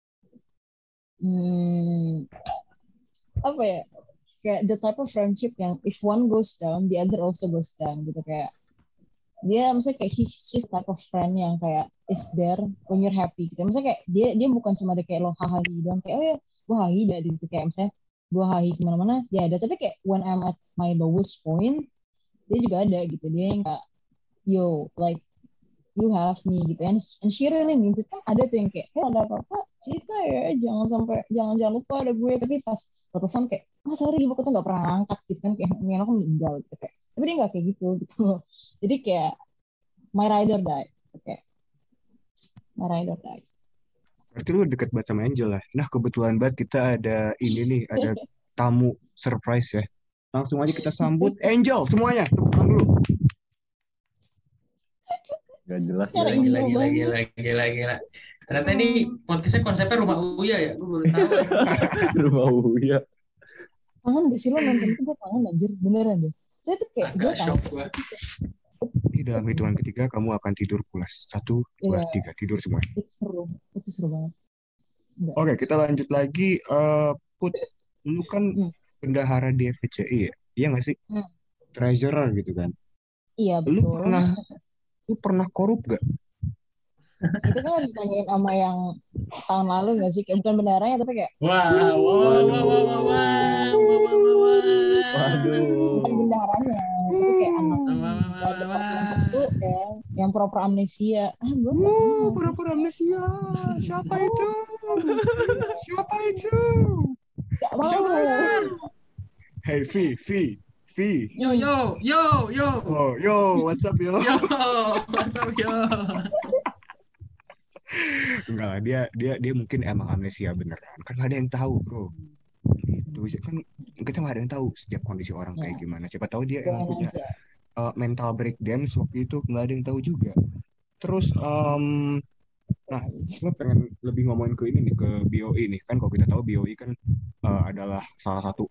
Apa ya, kayak the type of friendship yang if one goes down, the other also goes down gitu. Kayak dia misalnya kayak she's type of friend yang kayak is there when you're happy gitu. Misalnya kayak dia bukan cuma ada kayak lo hahaha doang, kayak oh ya gue hahi dah gitu. Kayak misalnya gue hahi kemana-mana dia ada, tapi kayak when I'm at my lowest point dia juga ada gitu. Dia yang kayak yo like you have me gitu, and she really means it. Kan ada tuh yang kayak ada apa-apa cerita ya, jangan lupa ada gue, tapi pas telepon kayak sorry ibu tuh nggak pernah angkat gitu kan, kayak aku meninggal gitu. Kayak tapi dia nggak kayak gitu. Jadi kayak my ride or die, oke, my ride or die. Berarti lu deket banget sama Angel lah. Nah, kebetulan banget kita ada ini nih, ada tamu surprise ya. Langsung aja kita sambut Angel semuanya. Tepuk tangan dulu. Gak jelas. Cara Gila, info banget. gila. Ternyata ini podcastnya konsepnya rumah Uya ya. Gue baru tahu. Rumah Uya. Kangen gak sih lo nonton itu? Gue kangen anjir, beneran deh. Saya tuh kayak gue Agak shock gue. Ini dalam hitungan ketiga kamu akan tidur pulas. 1, 2, 3, tidur semua. Itu seru banget. Enggak. Oke, kita lanjut lagi. Put, lu kan bendahara di FVCI ya? Iya nggak sih? Treasurer gitu kan? Iya Lu betul. pernah korup gak? Itu kan harus ditanyain sama yang tahun lalu gak sih? Kayak bukan bendaranya tapi kayak bukan bendaharanya, tapi kayak anak departemen satu yang pura-pura amnesia. Gue gak pernah. Pura-pura amnesia. Siapa itu? Gak mau. Hey, V. Yo. Oh, yo, what's up, yo? What's up, yo? Enggak lah, dia mungkin emang amnesia beneran. Kan nggak ada yang tahu, bro. Itu kan kita nggak ada yang tahu setiap kondisi orang kayak gimana. Siapa tahu dia emang punya mental breakdance waktu itu, nggak ada yang tahu juga. Terus, nah, gue pengen lebih ngomongin ke ini nih, ke BOI nih. Kan kalau kita tahu BOI kan adalah salah satu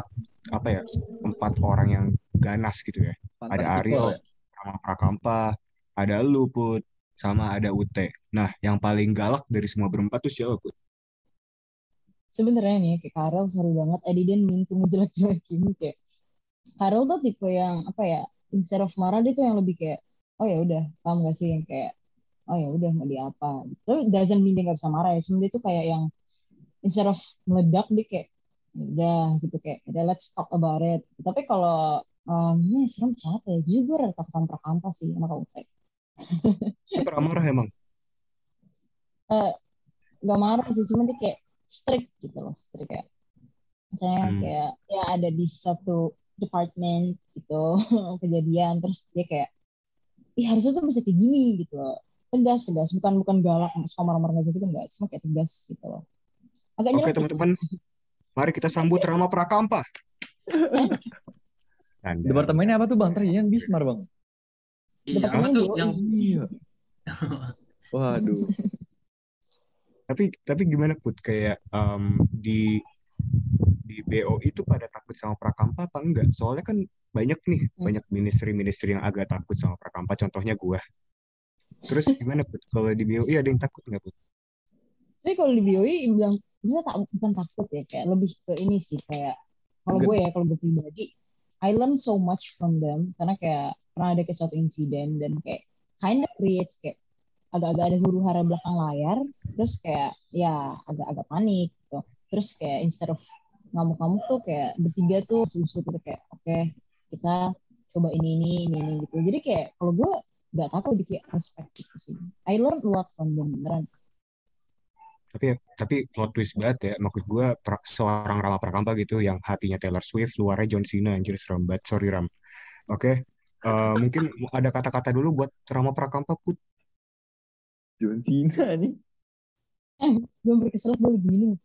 4 orang yang ganas gitu ya. Ada Ariel, sama Prakampa, ada lu, Put, sama ada Ute. Nah, yang paling galak dari semua berempat tuh siapa, Put? Sebenarnya nih kayak Karel sorry banget, I didn't mean to ngejelek-jelekin. Kayak Karel tuh tipe yang apa ya, instead of marah dia tuh yang lebih kayak oh ya udah, paham gak sih, yang kayak oh ya udah mau dia apa gitu. Doesn't mean dia nggak bisa marah ya, cuma dia tuh kayak yang instead of meledak dia kayak ya udah gitu, kayak udah let's talk about it. Tapi kalau ini serem siapa ya, jujur gue rada takutan Prakampa sih sama Kak Ute. Dia pernah marah emang? Gak marah sih, cuma dia kayak strict gitu loh, strict kayak misalnya kayak ya ada di satu department gitu kejadian, terus dia kayak harusnya tuh bisa kayak gini gitu loh. Tegas bukan galak suka marah-marah aja gitu, enggak, cuma kayak tegas gitu loh. Agak Oke, nyelekit. teman-teman, mari kita sambut Rama Prakampa. Departemennya apa tuh Bang? Ternyata Bismar Bang. Iya, apa tuh yang Waduh. Tapi gimana, Put, kayak di BOI itu pada takut sama Prakampa apa enggak? Soalnya kan banyak ministry yang agak takut sama Prakampa, contohnya gua. Terus gimana, Put? Kalau di BOI ada yang takut nggak, Put? Tapi kalau di BOI bilang bisa bukan takut ya, kayak lebih ke ini sih, kayak kalau gue pribadi I learn so much from them karena kayak pernah ada kayak suatu insiden dan kayak kind of creates kayak agak-agak ada huru hara belakang layar, terus kayak ya agak-agak panik gitu. Terus kayak instead of ngamuk-ngamuk tuh kayak bertiga tuh usul-usul gitu kayak oke, kita coba ini gitu. Jadi kayak kalau gue nggak tahu di kayak perspektif sih. I learn a lot from them beneran. Tapi plot twist banget ya. Maksud gue seorang Rama Prakampa gitu yang hatinya Taylor Swift, luarnya John Cena, anjir serem banget. Sorry Ram. Oke. Mungkin ada kata-kata dulu buat Rama Prakampa Put. John Cena nih. Gue berkeselak gue begini.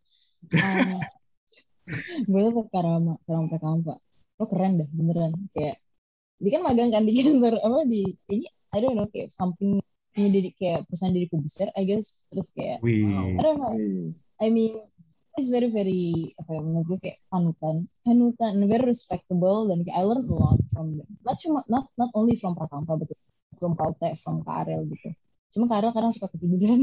Gue tuh Karama Prakampa. Lo keren dah beneran. Kayak dia kan magang kan di kantor apa di ini I don't know kayak something jadi kayak perusahaan dari publisher I guess, terus kayak Wih. I don't know, I mean it's very apa ya menurut gue kayak panutan very respectable dan kayak I learn a lot from them, not only from Prakampa but from Kaute, from Karel gitu. Cuma Karel kadang suka ketiduran.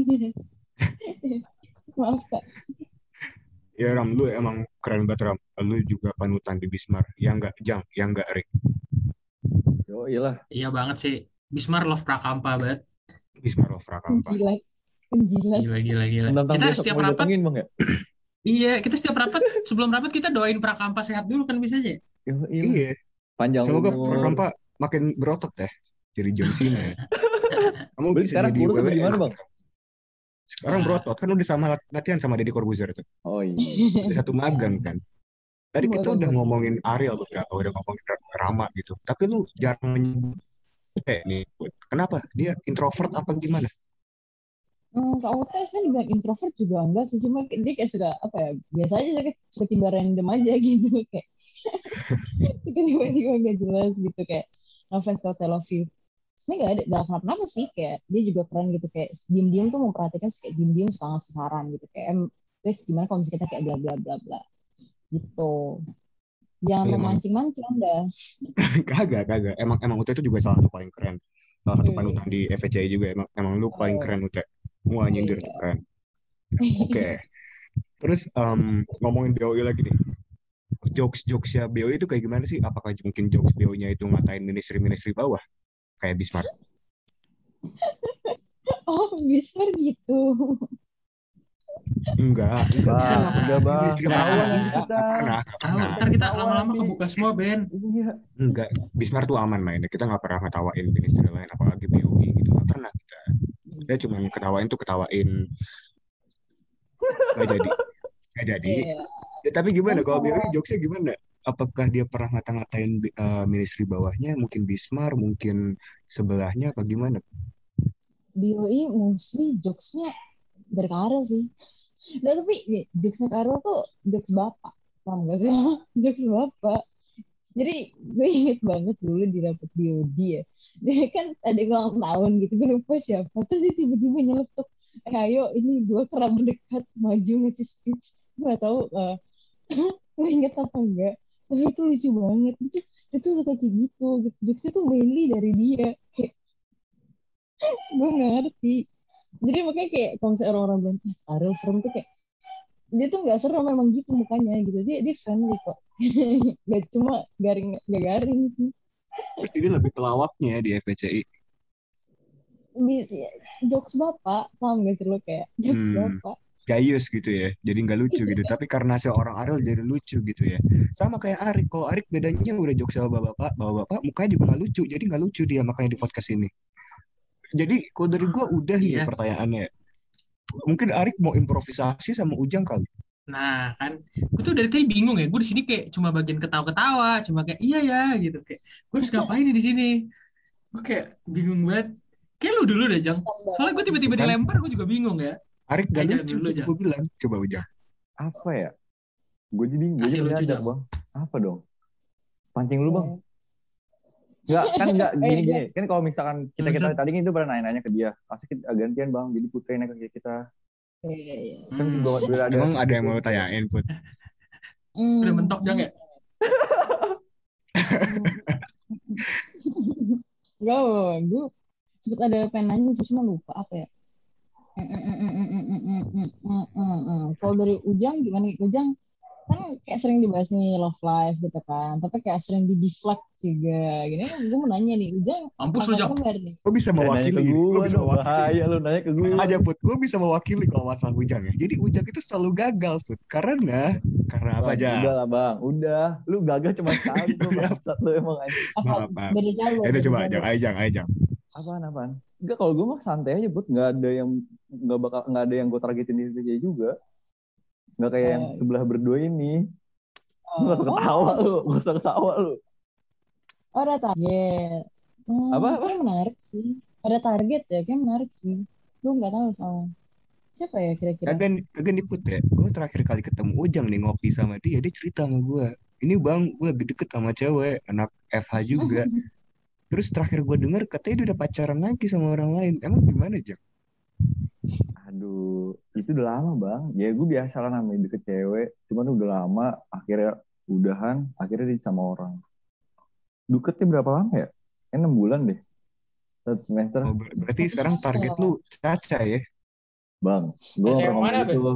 Maaf Kak. Ya Ram, lu emang keren banget Ram. Lu juga panutan di Bismar. Ya enggak Jang, ya enggak Rick. Yo iyalah. Iya banget sih. Bismar love Prakampa banget. Bismar of Prakampa. Gila. Tentang Kita besok setiap mau rapat, datengin Bang ya? iya, kita setiap rapat, sebelum rapat kita doain Prakampa sehat dulu kan bisa aja. Yo Iya. Panjang Semoga umur. Prakampa makin berotot ya. Jadi John Cena ya. Kamu Berarti bisa sekarang jadi kurus apa WWE gimana nanti, Bang? Kang. Sekarang berotot kan udah sama latihan sama Deddy Corbuzier tuh. Oh iya. Udah satu magang kan. Tadi kita udah ngomongin Ariel udah ngomongin Rama gitu. Tapi lu jarang menyebut nih. Kenapa? Dia introvert apa gimana? Kak Uta kan dibilang introvert juga enggak sih, cuma dia kayak suka apa ya, biasa aja kayak suka tiba random aja gitu kayak tiba-tiba nggak jelas gitu kayak no offense kalau I love you sebenarnya nggak ada kenapa sih, kayak dia juga keren gitu kayak diem-diem tuh memperhatikan, kayak diem-diem suka ngasih saran gitu kayak guys gimana kalau misalnya kita kayak bla bla bla bla gitu, jangan memancing-mancing Anda. Kagak. Emang Uta itu juga salah satu paling keren. Salah satu panutan di FVCI juga. Emang lu paling keren Uta. Wah nyindir tuh keren. Oke. Terus ngomongin BOI lagi nih. Jokes ya BOI itu kayak gimana sih? Apakah mungkin jokes BOI-nya itu ngatain ministry bawah? Kayak Bismar. Oh Bismar gitu. Enggak bisa Udah Bang. ministry Ketahuan bawah. nanti kita. Tahu, ntar kita lama-lama kebuka semua Ben. Iya. Enggak, Bismar tuh aman mainnya. Kita nggak pernah ngetawain ministry lain, apalagi BOI gitu. Nggak pernah kita. Dia cuma ketawain. Nggak jadi. Ya, tapi gimana kalau BOI jokesnya gimana? Apakah dia pernah ngata-ngatain ministry bawahnya? Mungkin Bismar, mungkin sebelahnya, apa gimana? BOI mostly jokesnya dari Karel sih. Nah, tapi nih, jokesnya Karel tuh jokes bapak. Paham gak sih? Jokes bapak. Jadi gue inget banget dulu di dapet BOD ya. Dia kan ada ulang tahun gitu. Gue lupa siapa. Terus dia tiba-tiba nyeletuk. Ayo ini gue kerap mendekat maju ngasih speech. Gue gak tahu gue inget apa enggak. Tapi itu lucu banget. Itu suka kayak gitu. Jokesnya tuh mainly dari dia. Kayak gue gak ngerti. Jadi makanya kayak kalau misalnya orang-orang bilang Ariel serem tuh kayak dia tuh nggak serem memang gitu mukanya gitu, dia friendly kok. Gak cuma garing sih. Berarti dia lebih pelawaknya di FVCI. Jokes bapak, paham gak sih lo, kayak jokes bapak gayus gitu ya, jadi nggak lucu gitu. Tapi karena seorang Ariel jadi lucu gitu ya. Sama kayak Arik. Kalau Arik bedanya udah jokes sama bapak mukanya juga nggak lucu, jadi nggak lucu dia makanya di podcast ini. Jadi kalau dari gue udah nih pertanyaannya. Mungkin Arik mau improvisasi sama Ujang kali. Nah kan, gue tuh dari tadi bingung ya. Gue di sini kayak cuma bagian ketawa-ketawa, cuma kayak iya ya gitu. Kayak gue harus ngapain nih di sini? Gue kayak bingung banget. Kayak lu dulu deh Jang. Soalnya gue tiba-tiba dilempar, gue juga bingung ya. Arik gak lucu, dulu, gue bilang. Coba Ujang. Apa ya? Gue jadi lucu nyadar Bang. Apa dong? Pancing lu Bang. Enggak gini. Kan kalau misalkan kita tadi itu pernah nanya-nanya ke dia. Pasti kita gantian Bang. Jadi Putri nanya ke kita. Kan juga Emang ada yang mau tanyain Put? Udah mentok Jang ya? Enggak, gue sempet ada pengen nanya sih cuma lupa apa ya. Kalau dari Ujang gimana? Ujang kan kayak sering dibahas nih love life gitu kan, tapi kayak sering di deflect juga. Gini gue mau nanya nih, Ujang Mampus lu, apa Jang. kabar nih? Gue bisa Nanya ke mewakili ini. Gue gue bisa dong, mewakili. bahaya lu nanya ke gue. Tenang aja Put, gue bisa mewakili kalau masalah Ujang ya. Jadi Ujang itu selalu gagal Put. Karena apa Bang, aja? udah lah bang, udah. Lu gagal cuma sekali tuh bangsat lu emang anjing. Apa Maaf. beda jalur? Ya udah Beda coba jalur. Ayo Jang. Apaan? Enggak, kalau gue mah santai aja, Bud. Nggak ada yang gue targetin di dia juga. Nggak kayak yang sebelah berdua ini. Nggak usah ketawa lu, nggak usah ketawa lu. Oh, ada target. Apa? Kayak menarik sih. Ada target ya, kayak menarik sih. Gue nggak tahu soalnya. Siapa ya kira-kira? Kagak nih Put ya. Gue terakhir kali ketemu Ujang nih ngopi sama dia cerita sama gue. Ini bang, gue lagi deket sama cewek, anak FH juga. Terus terakhir gue denger katanya dia udah pacaran lagi sama orang lain. Emang gimana Jang? Aduh, itu udah lama bang. Ya gue biasa lah namanya deket cewek. Cuman udah lama, akhirnya udahan, akhirnya dia sama orang. Deketnya berapa lama ya? 6 bulan deh. 1 semester. Oh, berarti sekarang target lu Caca ya? Bang, gue Caca gak yang ngomong mana, gitu.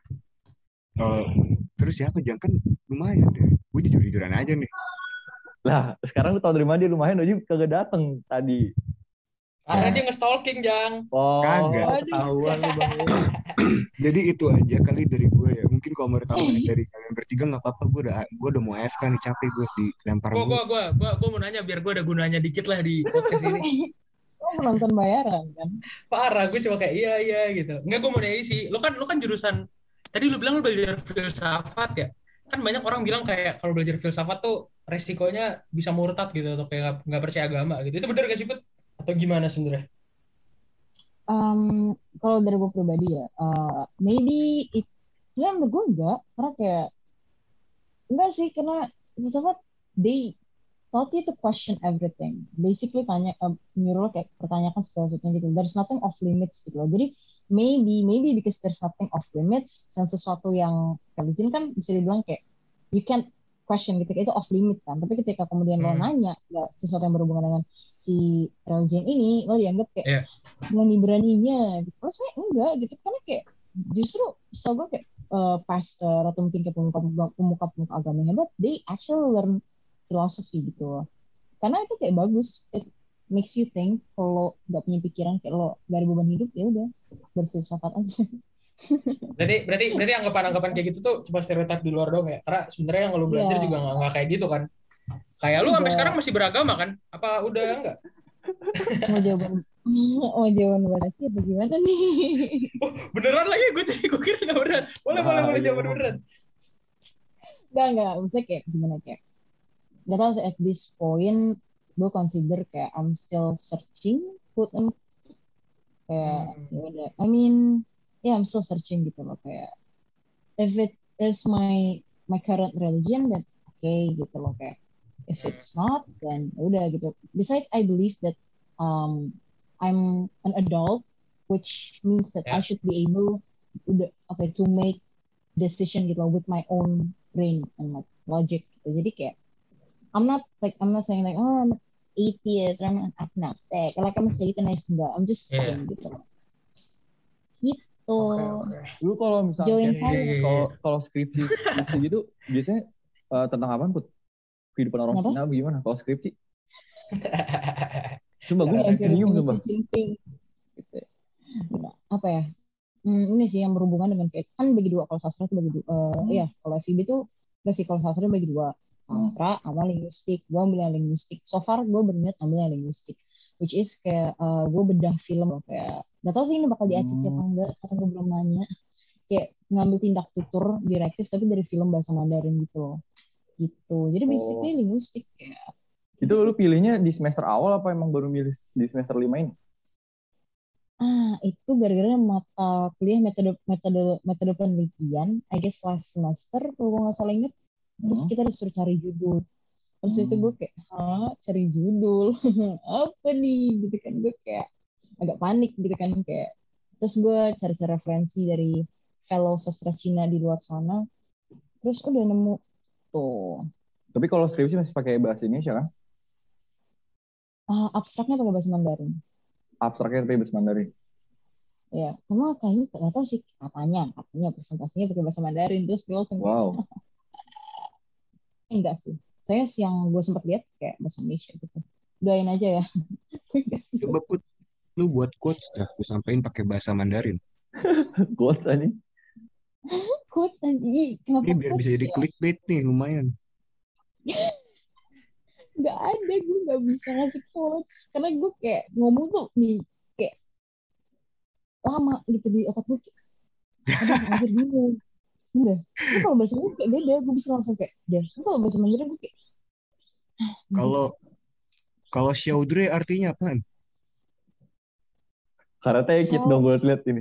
Terus siapa Jang? Kan lumayan deh. Gue jujur-jujuran aja nih. Lah, sekarang lu tau dari mana dia lumayan aja kagak dateng tadi. Karena dia nge-stalking, Jang. Oh, Kagak. ketahuan lu bang. Jadi itu aja kali dari gue ya. Mungkin kalau menurut tambahan dari kalian bertiga nggak apa-apa. Gue udah mau AFK nih, capek gue dilempar gue. Gue mau nanya biar gue ada gunanya dikit lah di podcast ini. Lo penonton bayaran kan? Parah, gue cuma kayak iya gitu. Enggak, gue mau nanya sih. Lu kan jurusan, tadi lu bilang lu belajar filsafat ya. Kan banyak orang bilang kayak kalau belajar filsafat tuh resikonya bisa murtad gitu atau kayak nggak percaya agama gitu. Itu benar gak sih, Put? Atau gimana sebenarnya? Kalau dari gue pribadi ya, maybe sebenarnya menurut gue enggak, karena kayak enggak sih, karena filsafat they taught you to question everything. Basically nyuruh lo kayak pertanyakan segala sesuatu gitu. There's nothing off limits gitu loh. Jadi maybe because there's nothing off limits, dan sesuatu yang religion kan bisa dibilang kayak you can't question gitu, itu off limit kan. Tapi ketika kemudian lo nanya sesuatu yang berhubungan dengan si religion ini, lo dianggap kayak berani-beraninya gitu. Terus sebenarnya enggak gitu, karena kayak justru setahu gue kayak pastor atau mungkin kayak pemuka agama hebat, they actually learn philosophy gitu. Karena itu kayak bagus, it makes you think. Kalau nggak punya pikiran kayak lo gak ada beban hidup, ya udah berfilsafat aja. Berarti anggapan kayak gitu tuh cuma stereotip di luar dong ya. Karena sebenarnya yang lo belajar juga nggak kayak gitu kan. Kayak lu sampai sekarang masih beragama kan? Apa udah enggak? Mau jawaban berasi apa gimana nih? Oh, beneran lagi gue kira nggak beneran. Boleh jawab beneran. Enggak, maksudnya kayak gimana kayak. Gak tau sih, at this point gue consider kayak I'm still searching food and kayak I mean I'm still searching gitu loh, kayak if it is my current religion then okay gitu loh, kayak if it's not then udah gitu. Besides I believe that I'm an adult, which means that I should be able to make decision gitu loh with my own brain and like logic gitu. Jadi kayak I'm not saying like I'm an atheist or I'm an agnostic or like I'm a Satanist, enggak. I'm just saying gitu. Gitu. Okay. Lu kalau misalnya kalau skripsi gitu biasanya tentang apa Put? Kehidupan orang Cina gimana kalau skripsi? Coba gue bingung coba. Gitu. Apa ya? Ini sih yang berhubungan dengan kayak kan bagi dua, kalau sastra itu bagi dua. Iya, kalau FIB itu enggak sih, kalau sastra bagi dua. Sastra sama linguistik. Gue ambil yang linguistik. So far gue berniat ambil yang linguistik, which is kayak gue bedah film loh, kayak gak tau sih ini bakal di ACC apa enggak, karena gue belum nanya. Kayak ngambil tindak tutur direktif tapi dari film bahasa Mandarin gitu loh. Gitu. Jadi basically linguistik kayak. Itu lu pilihnya di semester awal apa emang baru milih di semester 5 ini? Itu gara-gara mata kuliah metode penelitian, I guess last semester kalau gue nggak salah inget. Terus kita disuruh cari judul. Terus itu gue kayak, cari judul apa nih gitu kan, gue kayak agak panik gitu kan, kayak terus gue cari referensi dari fellow sastra Cina di luar sana, terus udah nemu tuh. Tapi kalau skripsi masih pakai bahasa Indonesia kan? Abstraknya pakai bahasa Mandarin. Abstraknya pakai bahasa Mandarin. Ya, kamu kayaknya nggak tahu sih, katanya presentasinya pakai bahasa Mandarin, terus gue langsung wow. Enggak sih. Saya yang gue sempat lihat kayak bahasa Indonesia gitu. Doain aja ya. Enggak sih. Coba Put, lu buat quotes dah, aku sampein pakai bahasa Mandarin. Quotes aja. Quotes aja. Kenapa Ini biar bisa quotes jadi ya? clickbait nih, lumayan. Nggak ada, gue nggak bisa ngasih quotes. Karena gue kayak ngomong tuh nih, kayak lama gitu di otak gue. Aduh, anjir bingung. Udah. Tapi kalau bahasa Inggris kayak beda. Gue bisa langsung kayak, deh. Kalau bahasa Mandarin gue kayak, Kalau kalau Syaudre artinya apaan? Karate Kid dong gue lihat ini.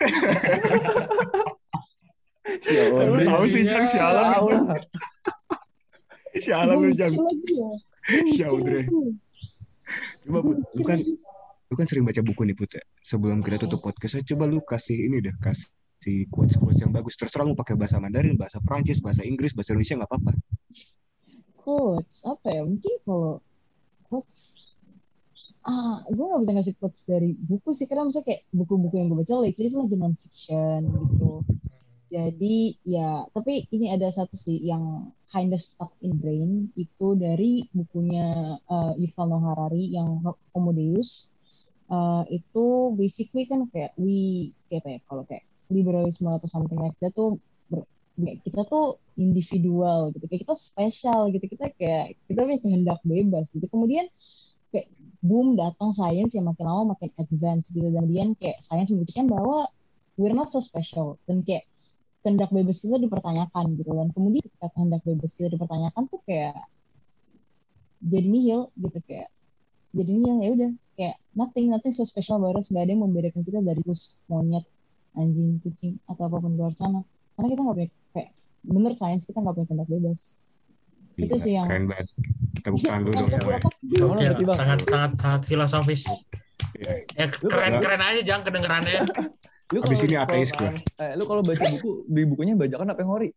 Lu tahu sih Jang, sialan lu Jang. Sialan gue lu mikir Jang. lagi ya. Gue mikir Syaudre. lagi. Coba Put, lu kan sering baca buku nih Put ya. Sebelum kita tutup podcast, coba lu kasih ini deh, kasih quotes-quotes yang bagus. Terserah lu pakai bahasa Mandarin, bahasa Prancis, bahasa Inggris, bahasa Indonesia nggak apa-apa. Quotes, apa ya? Mungkin kalau quotes, gue gak bisa ngasih quotes dari buku sih. Karena misalnya kayak buku-buku yang gue baca lately itu lagi non-fiction gitu. Jadi ya, tapi ini ada satu sih yang kind of stuck in brain, itu dari bukunya Yuval Noah Harari yang Homo Deus. Itu basically kan kayak kayak apa ya, kalau kayak liberalisme atau something like that tuh kita tuh individual gitu, kayak kita spesial gitu, kita punya kehendak bebas gitu. Kemudian kayak boom, datang sains yang makin lama makin advance gitu, dan kemudian kayak sains membuktikan bahwa we're not so special, dan kayak kehendak bebas kita dipertanyakan gitu. Dan kemudian ketika kehendak bebas kita dipertanyakan tuh kayak jadi nihil gitu, kayak jadi nihil, ya udah kayak nothing so special about us. Gak ada yang membedakan kita dari kus, monyet, anjing, kucing, atau apapun di luar sana, karena kita nggak punya kayak bener sains, kita nggak punya kehendak bebas. Itu Gila, sih yang keren banget. Tepuk tangan dulu dong sampai semuanya. otak gue. Oke, Ngerti, Bang. sangat filosofis. Ya, Ya keren aja Jang kedengerannya. Lu abis ini kalau- ateis gue. Lu kalau baca buku, di bukunya bajakan apa yang ori?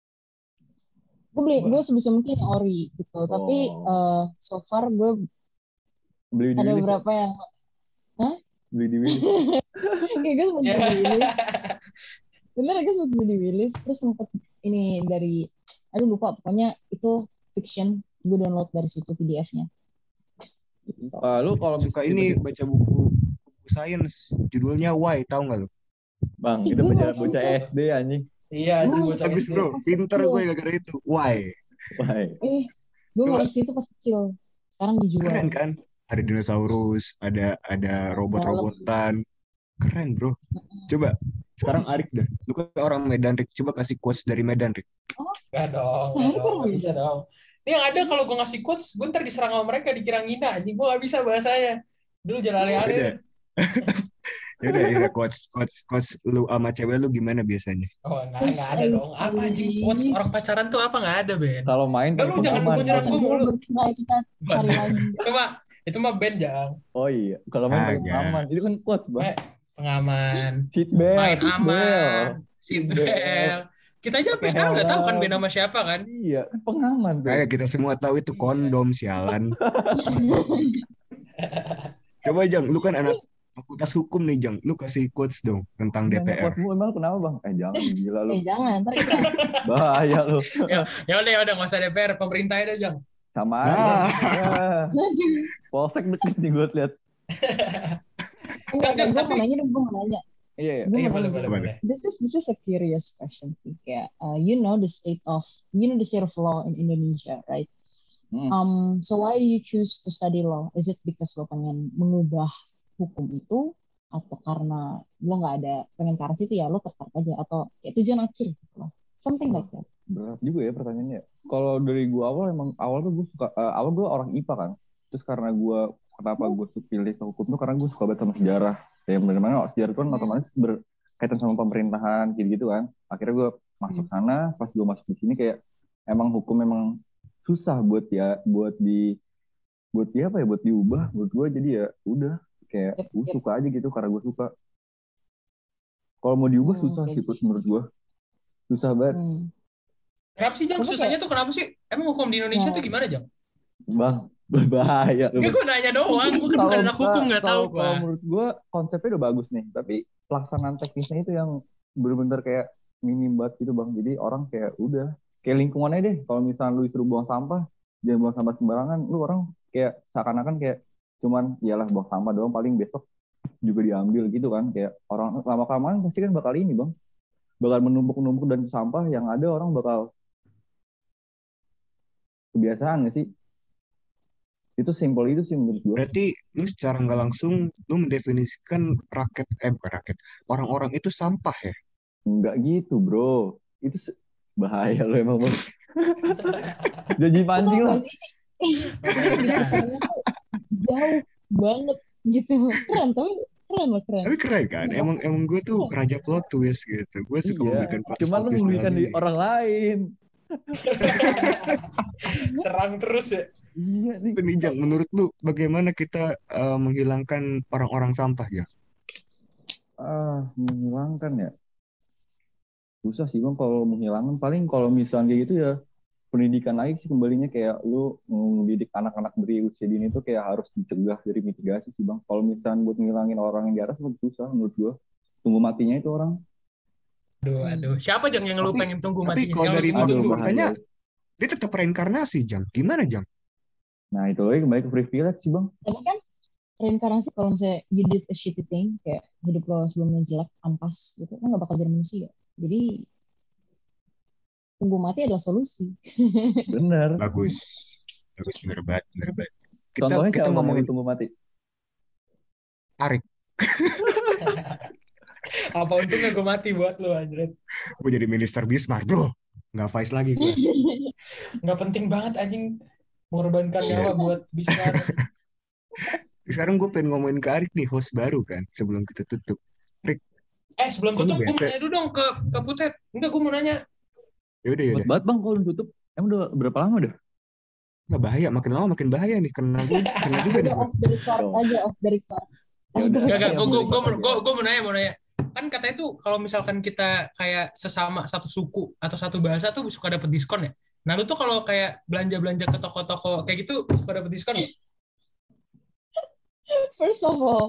Gue sebisa mungkin yang ori gitu, tapi so far gue Beli di ada Willis. beberapa yang Beli di Willis. kayak gue sempet beli di Willis. Bener, gue sempet beli di Willis, terus sempet ini dari, aduh lupa, pokoknya itu fiction, gue download dari situ PDF-nya. Gitu. Lu kalau Suka ini baca buku sains, judulnya Why, tahu nggak lu? Bang, Ih, itu gue bocah nggak bocah suka. SD anjing. Iya, anjing Gue bocah Bagus SD. bro, pinter gue gara-gara itu. Why? Wah. Gue Coba. ngoleksi itu pas kecil, sekarang dijual. Keren kan? Ada dinosaurus, ada robot-robotan. Keren bro. Coba sekarang Arik dah. Lu kan orang Medan, Rik. Coba kasih quotes dari Medan, Rik. Gak dong, gak bisa dong. Ini yang ada kalau gue ngasih quotes, gue ntar diserang sama mereka, dikira ngina anjing. Gue gak bisa bahasanya. Dulu jalan Beda. ale-ale. Ya quotes lu sama cewek lu gimana biasanya? Oh, nggak ada dong. Apa anjing quotes orang pacaran tuh apa nggak ada, Ben? Kalau main Lu telepon jangan aman. nyerang gue mulu. Bercerai kita cari lagi. Itu mah Ben, Jang. Oh iya, kalau main telepon Agak. aman. Itu kan quotes, Bang. Pengaman. Cheat bell. Main cheat bell. aman. Seatbelt. Kita aja sampai sekarang nggak tahu kan Ben sama siapa kan? Iya, kan pengaman tuh. Kayak kita semua tahu itu kondom, sialan. Coba Jang, lu kan anak fakultas hukum nih Jang. Lu kasih quotes dong tentang DPR. Quotesmu emang kenapa, Bang? Jangan gila lu. Jangan, ntar kita Bahaya lu. Ya udah nggak usah DPR, pemerintah aja Jang. Sama aja. Ya. Polsek deket nih gue lihat. enggak, gue Tapi- mau nanya dong, gue mau nanya. Iya, iya. Gue Iya mau boleh. nanya. This is a curious question sih, kayak you know the state of law in Indonesia, right? So why do you choose to study law? Is it because lo pengen mengubah hukum itu, atau karena lo nggak ada pengen ke arah situ ya lo tertarik aja, atau kayak tujuan akhir gitu loh, something like that? Berat juga ya pertanyaannya. Kalau dari gue awal tuh gue suka awal gue orang IPA kan. Terus karena kenapa gue pilih ke hukum tuh karena gue suka banget sama sejarah. Ya benar-benar sejarah itu kan otomatis berkaitan sama pemerintahan gitu kan. Akhirnya gue masuk sana, pas gue masuk di sini kayak emang hukum memang susah buat diubah buat gue, jadi ya udah kayak gue suka aja gitu karena gue suka. Kalau mau diubah susah sih menurut gue. Susah banget. Kenapa sih Jang? Susahnya tuh kenapa sih? Emang hukum di Indonesia tuh gimana Jang? Bang, berbahaya. Gue nanya doang, gue kan bukan anak hukum, nggak tahu gue. Kalau menurut gue konsepnya udah bagus nih, tapi pelaksanaan teknisnya itu yang benar-benar kayak minim banget gitu Bang. Jadi orang kayak udah kayak lingkungannya deh. Kalau misalnya lu disuruh buang sampah, jangan buang sampah sembarangan. Lu orang kayak seakan-akan kayak cuman iyalah buang sampah doang, paling besok juga diambil gitu kan. Kayak orang lama-kelamaan pasti kan bakal ini bang, bakal menumpuk dan sampah yang ada orang bakal kebiasaan nggak sih? Itu simpel itu sih menurut gue. Berarti lu secara nggak langsung lu mendefinisikan bukan rakyat, orang-orang itu sampah ya? Enggak gitu bro, itu bahaya lo emang bang. Jadi pancing lah. Jauh banget gitu. Keren tapi keren loh keren. Tapi keren kan? Emang gue tuh raja plot twist gitu. Gue suka memberikan plot Cuman lu twist memberikan di orang lain. Serang terus ya. Iya nih. Penijang, menurut lu bagaimana kita menghilangkan orang-orang sampah ya? Menghilangkan ya. Susah sih bang kalau menghilangkan. Paling kalau misalnya kayak gitu ya pendidikan lagi sih kembalinya, kayak lu mendidik anak-anak dari usia dini itu kayak harus dicegah dari mitigasi sih bang. Kalau misalnya buat ngilangin orang yang di atas lebih susah menurut gua. Tunggu matinya itu orang. Aduh. Siapa Jang yang lu pengen tunggu Tapi matinya? kalau Yang dari lu tunggu. faktanya dia tetap reinkarnasi, Jang. Gimana, Jang? Nah itu lagi kembali ke privilege sih bang. Tapi kan reinkarnasi kalau misalnya you did a shitty thing, kayak hidup lo sebelumnya jelek, ampas gitu, kan gak bakal jadi manusia. Jadi tunggu mati adalah solusi. Bener. Bagus, bener banget. Contohnya Kita siapa ngomongin yang tunggu mati? Arik. Apa untungnya gue mati buat lu anjir. Gue jadi minister Bismarck, bro. Nggak Vice lagi gue. Nggak penting banget anjing mengorbankan nyawa buat bisa. Sekarang gue pengen ngomongin ke Arik nih, host baru kan, sebelum kita tutup. Rik, Sebelum tutup gue mau nanya dulu dong ke Putet. Enggak, gue mau nanya. Yaudah. Banget bang kalau tutup. Emang udah berapa lama udah? Nggak bahaya, makin lama makin bahaya nih. Kena juga nih. Off the record aja, off the record. Enggak, gue mau nanya. Kan katanya tuh kalau misalkan kita kayak sesama satu suku atau satu bahasa tuh suka dapet diskon ya. Nah lu tuh kalau kayak belanja ke toko-toko kayak gitu suka dapet diskon ya? First of all,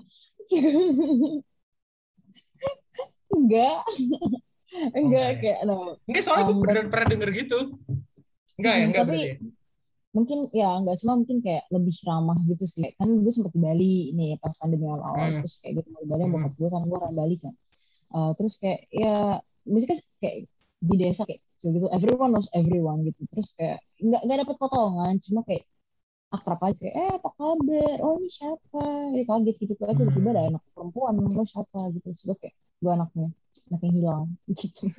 enggak kayak no. Enggak, soalnya gue beneran pernah denger gitu. Enggak tapi berarti. Mungkin ya enggak, cuma mungkin kayak lebih ramah gitu sih. Kan gue sempat di Bali ini pas pandemi awal, terus kayak gue mau di Bali sama bokap gue kan, gue orang Bali kan. Terus kayak ya misalnya kayak di desa kayak gitu, everyone knows everyone gitu. Terus kayak nggak dapat potongan, cuma kayak akrab aja kayak apa kabar, oh ini siapa, jadi kaget gitu kan, tiba-tiba ada anak perempuan, lo siapa gitu. Terus gue kayak gue anaknya yang hilang gitu.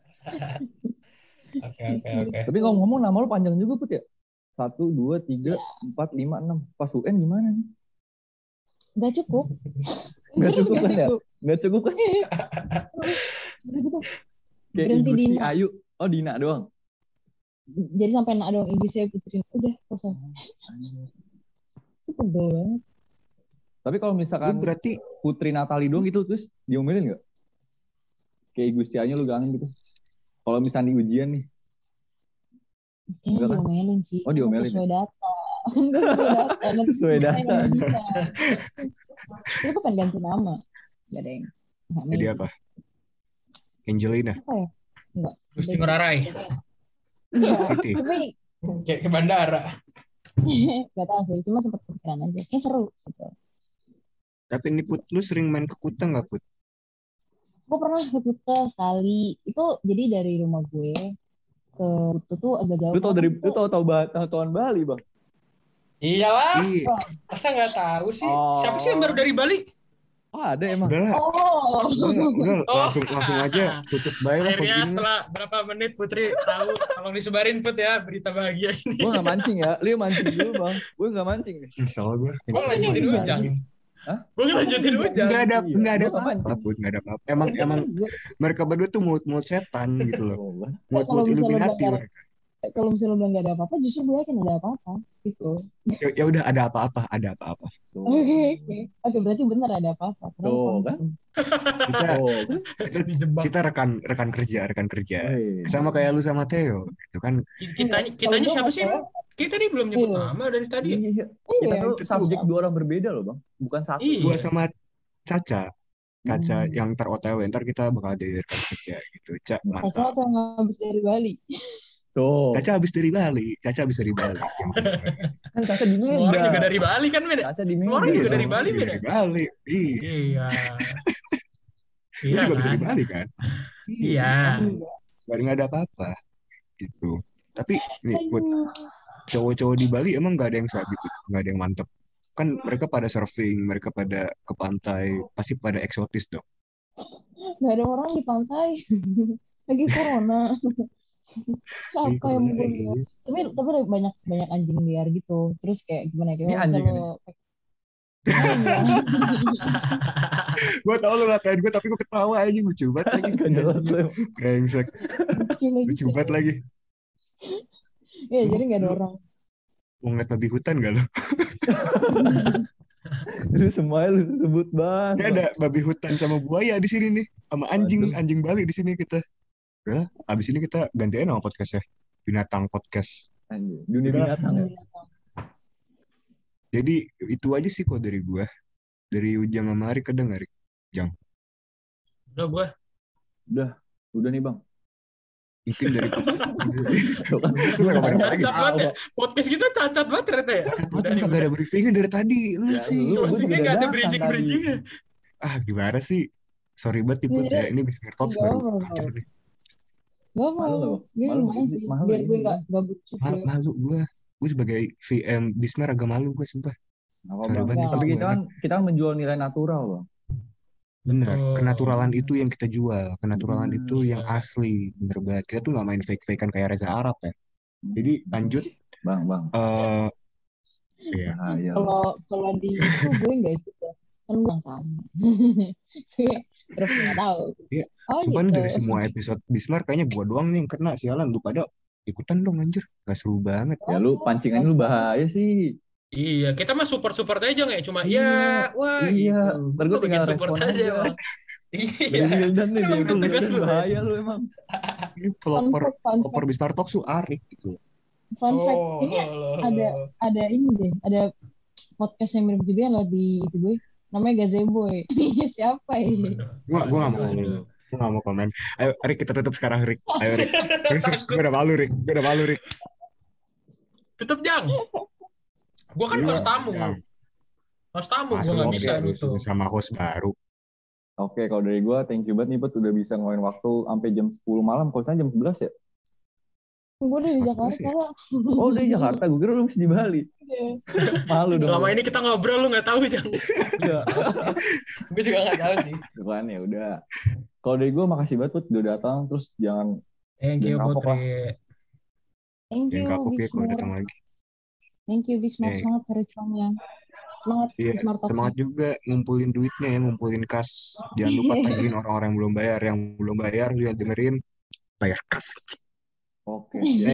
Oke. Tapi ngomong-ngomong nama lu panjang juga Put ya? 1, 2, 3, 4, 5, 6. Pas UN gimana nih? Gak cukup. Gak cukup kan ya? Gak cukup kan? Kayak Berhenti Ibu Dina. Ayu. Oh Dina doang. Jadi sampai nak doang, Ibu saya Putri. Udah selesai. Itu tebel banget. Tapi kalau misalkan berarti Putri Natali doang gitu terus diomelin gak? Kayak Gustianya lu gangen gitu. Kalau misalnya di ujian nih. Kayaknya diomelin sih. Oh diomelin. Sesuai data. Sesuai data. Itu pengen ganti nama. Gak ada yang. Jadi apa? Angelina. Apa ya? Enggak. Gusti Ngurah Rai. Iya. Siti. Tapi Kayak ke bandara. gak tahu sih. Cuma sempat kepikiran aja. Kayak seru gitu. Tapi ini Put, lu sering main ke Kuta nggak Put? Gue pernah ke Kuta sekali. Itu jadi dari rumah gue ke Kuta tuh agak jauh. Lu tahu Bali bang? Iyalah. Iya. Masa nggak tahu sih? Siapa sih yang baru dari Bali? Oh ada emang. Udah lah. Oh. Udah langsung aja tutup baik lah. Akhirnya setelah berapa menit Putri tahu. Tolong disebarin Put ya berita bahagia ini. Gue gak mancing ya. Lu mancing dulu bang. Gue gak mancing nih. Salah gue. Gue ngelanjutin Ujang. Gue ngelanjutin Ujang. Nggak ada apa-apa. Emang mereka berdua tuh mulut setan gitu loh. Mulut Illuminati mereka. Kalau misalnya lo bilang nggak ada apa-apa, justru gue yakin ada apa-apa gitu. Ya udah ada apa-apa. Oke, berarti benar ada apa-apa. Tuh kan? Kita rekan kerja. Sama kayak lu sama Theo gitu kan. Kitanya siapa sih emang? Kita nih belum nyebut nama dari tadi. Iya. Kita tuh subjek 2 orang berbeda loh bang. Bukan satu. Gua sama Caca yang ntar OTW, ntar kita bakal jadi rekan kerja gitu. Caca tuh habis dari Bali. Tuh. Caca habis dari Bali. Yang bener. Kan Caca di Semua orang juga Medan. dari Bali kan, men. Caca di Semua orang Medan. juga dari semua Bali, juga men. dari Bali. Iya. Iya. Lu Iya juga bisa kan? dari Bali kan? Iya. Nggak ada apa-apa gitu. Tapi nih buat Aduh. cowok-cowok di Bali emang nggak ada yang sabi tuh, nggak ada yang mantep. Kan mereka pada surfing, mereka pada ke pantai, pasti pada eksotis dong. Gak ada orang di pantai. Lagi corona. Iya, Siapa yang corona, mau iya. lihat? Tapi banyak anjing liar gitu. Terus kayak gimana Ini kayak anjing kalau oh iya. Gue tau lu ngatain gue, tapi gue ketawa aja, lucu banget lagi. Gak jelas lu. Brengsek, Lucu lagi. lucu banget lagi. Iya, Lu- jadi gak ada lu- orang. Mau ngeliat babi hutan gak lo? Lu semuanya lu sebut bang. Ini ada babi hutan sama buaya di sini nih, sama anjing Bali di sini kita. Udah, abis ini kita gantiin nama podcastnya, Binatang Podcast. Anjing. Dunia binatang ya. Jadi itu aja sih kok dari gue. Dari Ujang sama Arik, ada nggak Arik? Udah gue. Udah nih bang. Mungkin dari Tuh kan. Cacat banget ya. Podcast kita cacat banget ternyata ya. Udah nih, kagak ada briefingnya dari tadi. Lu Ya, sih. lu- Closingnya juga gak ada datang bridging-bridgingnya. Gimana sih? Sorry banget Put ya. Ini Bismir Talks Gak baru apa-apa. hancur nih. Gak Malu mau. loh. Gue Malu. lumayan sih. Malu Biar ya, gue iya. gak bucin. Malu gue. Gue sebagai VM Bismir agak malu gue sumpah. Apa, Sorry bang. banget. Tapi nih, kita kan menjual nilai natural bang. Bener, Betul. kenaturalan itu yang kita jual. Kenaturalan Bener. itu yang asli. Bener banget. Kita tuh gak main fake-fakean kayak Reza Arab ya. Jadi lanjut. Bang. Iya. Bahaya. Kalau di itu gue gak ikut ya. Kan gue tahu. Terus gak tahu. Iya. Oh Sumpah nih gitu. dari semua episode Bismar kayaknya gua doang nih yang kena, sialan. Lu pada ikutan dong anjir. Gak seru banget. Ya lu pancingannya lu bahaya sih. Iya, kita mah support aja nggak cuma Iya, wah iya. gitu. Ntar gue Lu tinggal bikin support respon aja. Bang. Dari Iya. Wildan nih, Emang dia itu tugas lu, bahaya lu emang. Ini Fun pelopor fact. Bismar Talks tuh Arik gitu. Fun fact. Oh, Ini loh. ada ini deh. Ada podcast yang mirip juga yang di itu gue. Namanya Gazeboy. Siapa ya? Gua gak mau komen. Ayo Rik, kita tutup sekarang Rik. Ayo Rik. Gue udah malu Rik. Tutup Jang. Gua kan host tamu. Jang. Host tamu Masa gua nggak lu bisa kayak nutup. sama host baru. Oke, kalau dari gue, thank you banget nih, Put. Udah bisa ngeluarin waktu sampai jam 10 malam. Kalau saya jam 11 ya? Gue udah di Mas, Jakarta ya? lah. Oh, udah di Jakarta. Gue kira lu masih di Bali. Malu dong. Selama ini kita ngobrol lu nggak tahu Jang. Iya. Gue juga nggak tahu sih. Kan ya udah. Kalau dari gue, makasih banget, Put. Udah datang. Terus jangan Thank you Jangan kapok lah. Putri. Thank Yang you kapok ya kalau Bismar. datang lagi. Thank you Bismar. Iya. Semangat cari cuannya. Semangat Iya, Bismar Talks. semangat juga ngumpulin duitnya ya, ngumpulin kas. Jangan lupa tagihin orang-orang yang belum bayar. Yang belum bayar, dia dengerin, bayar kas. Oke.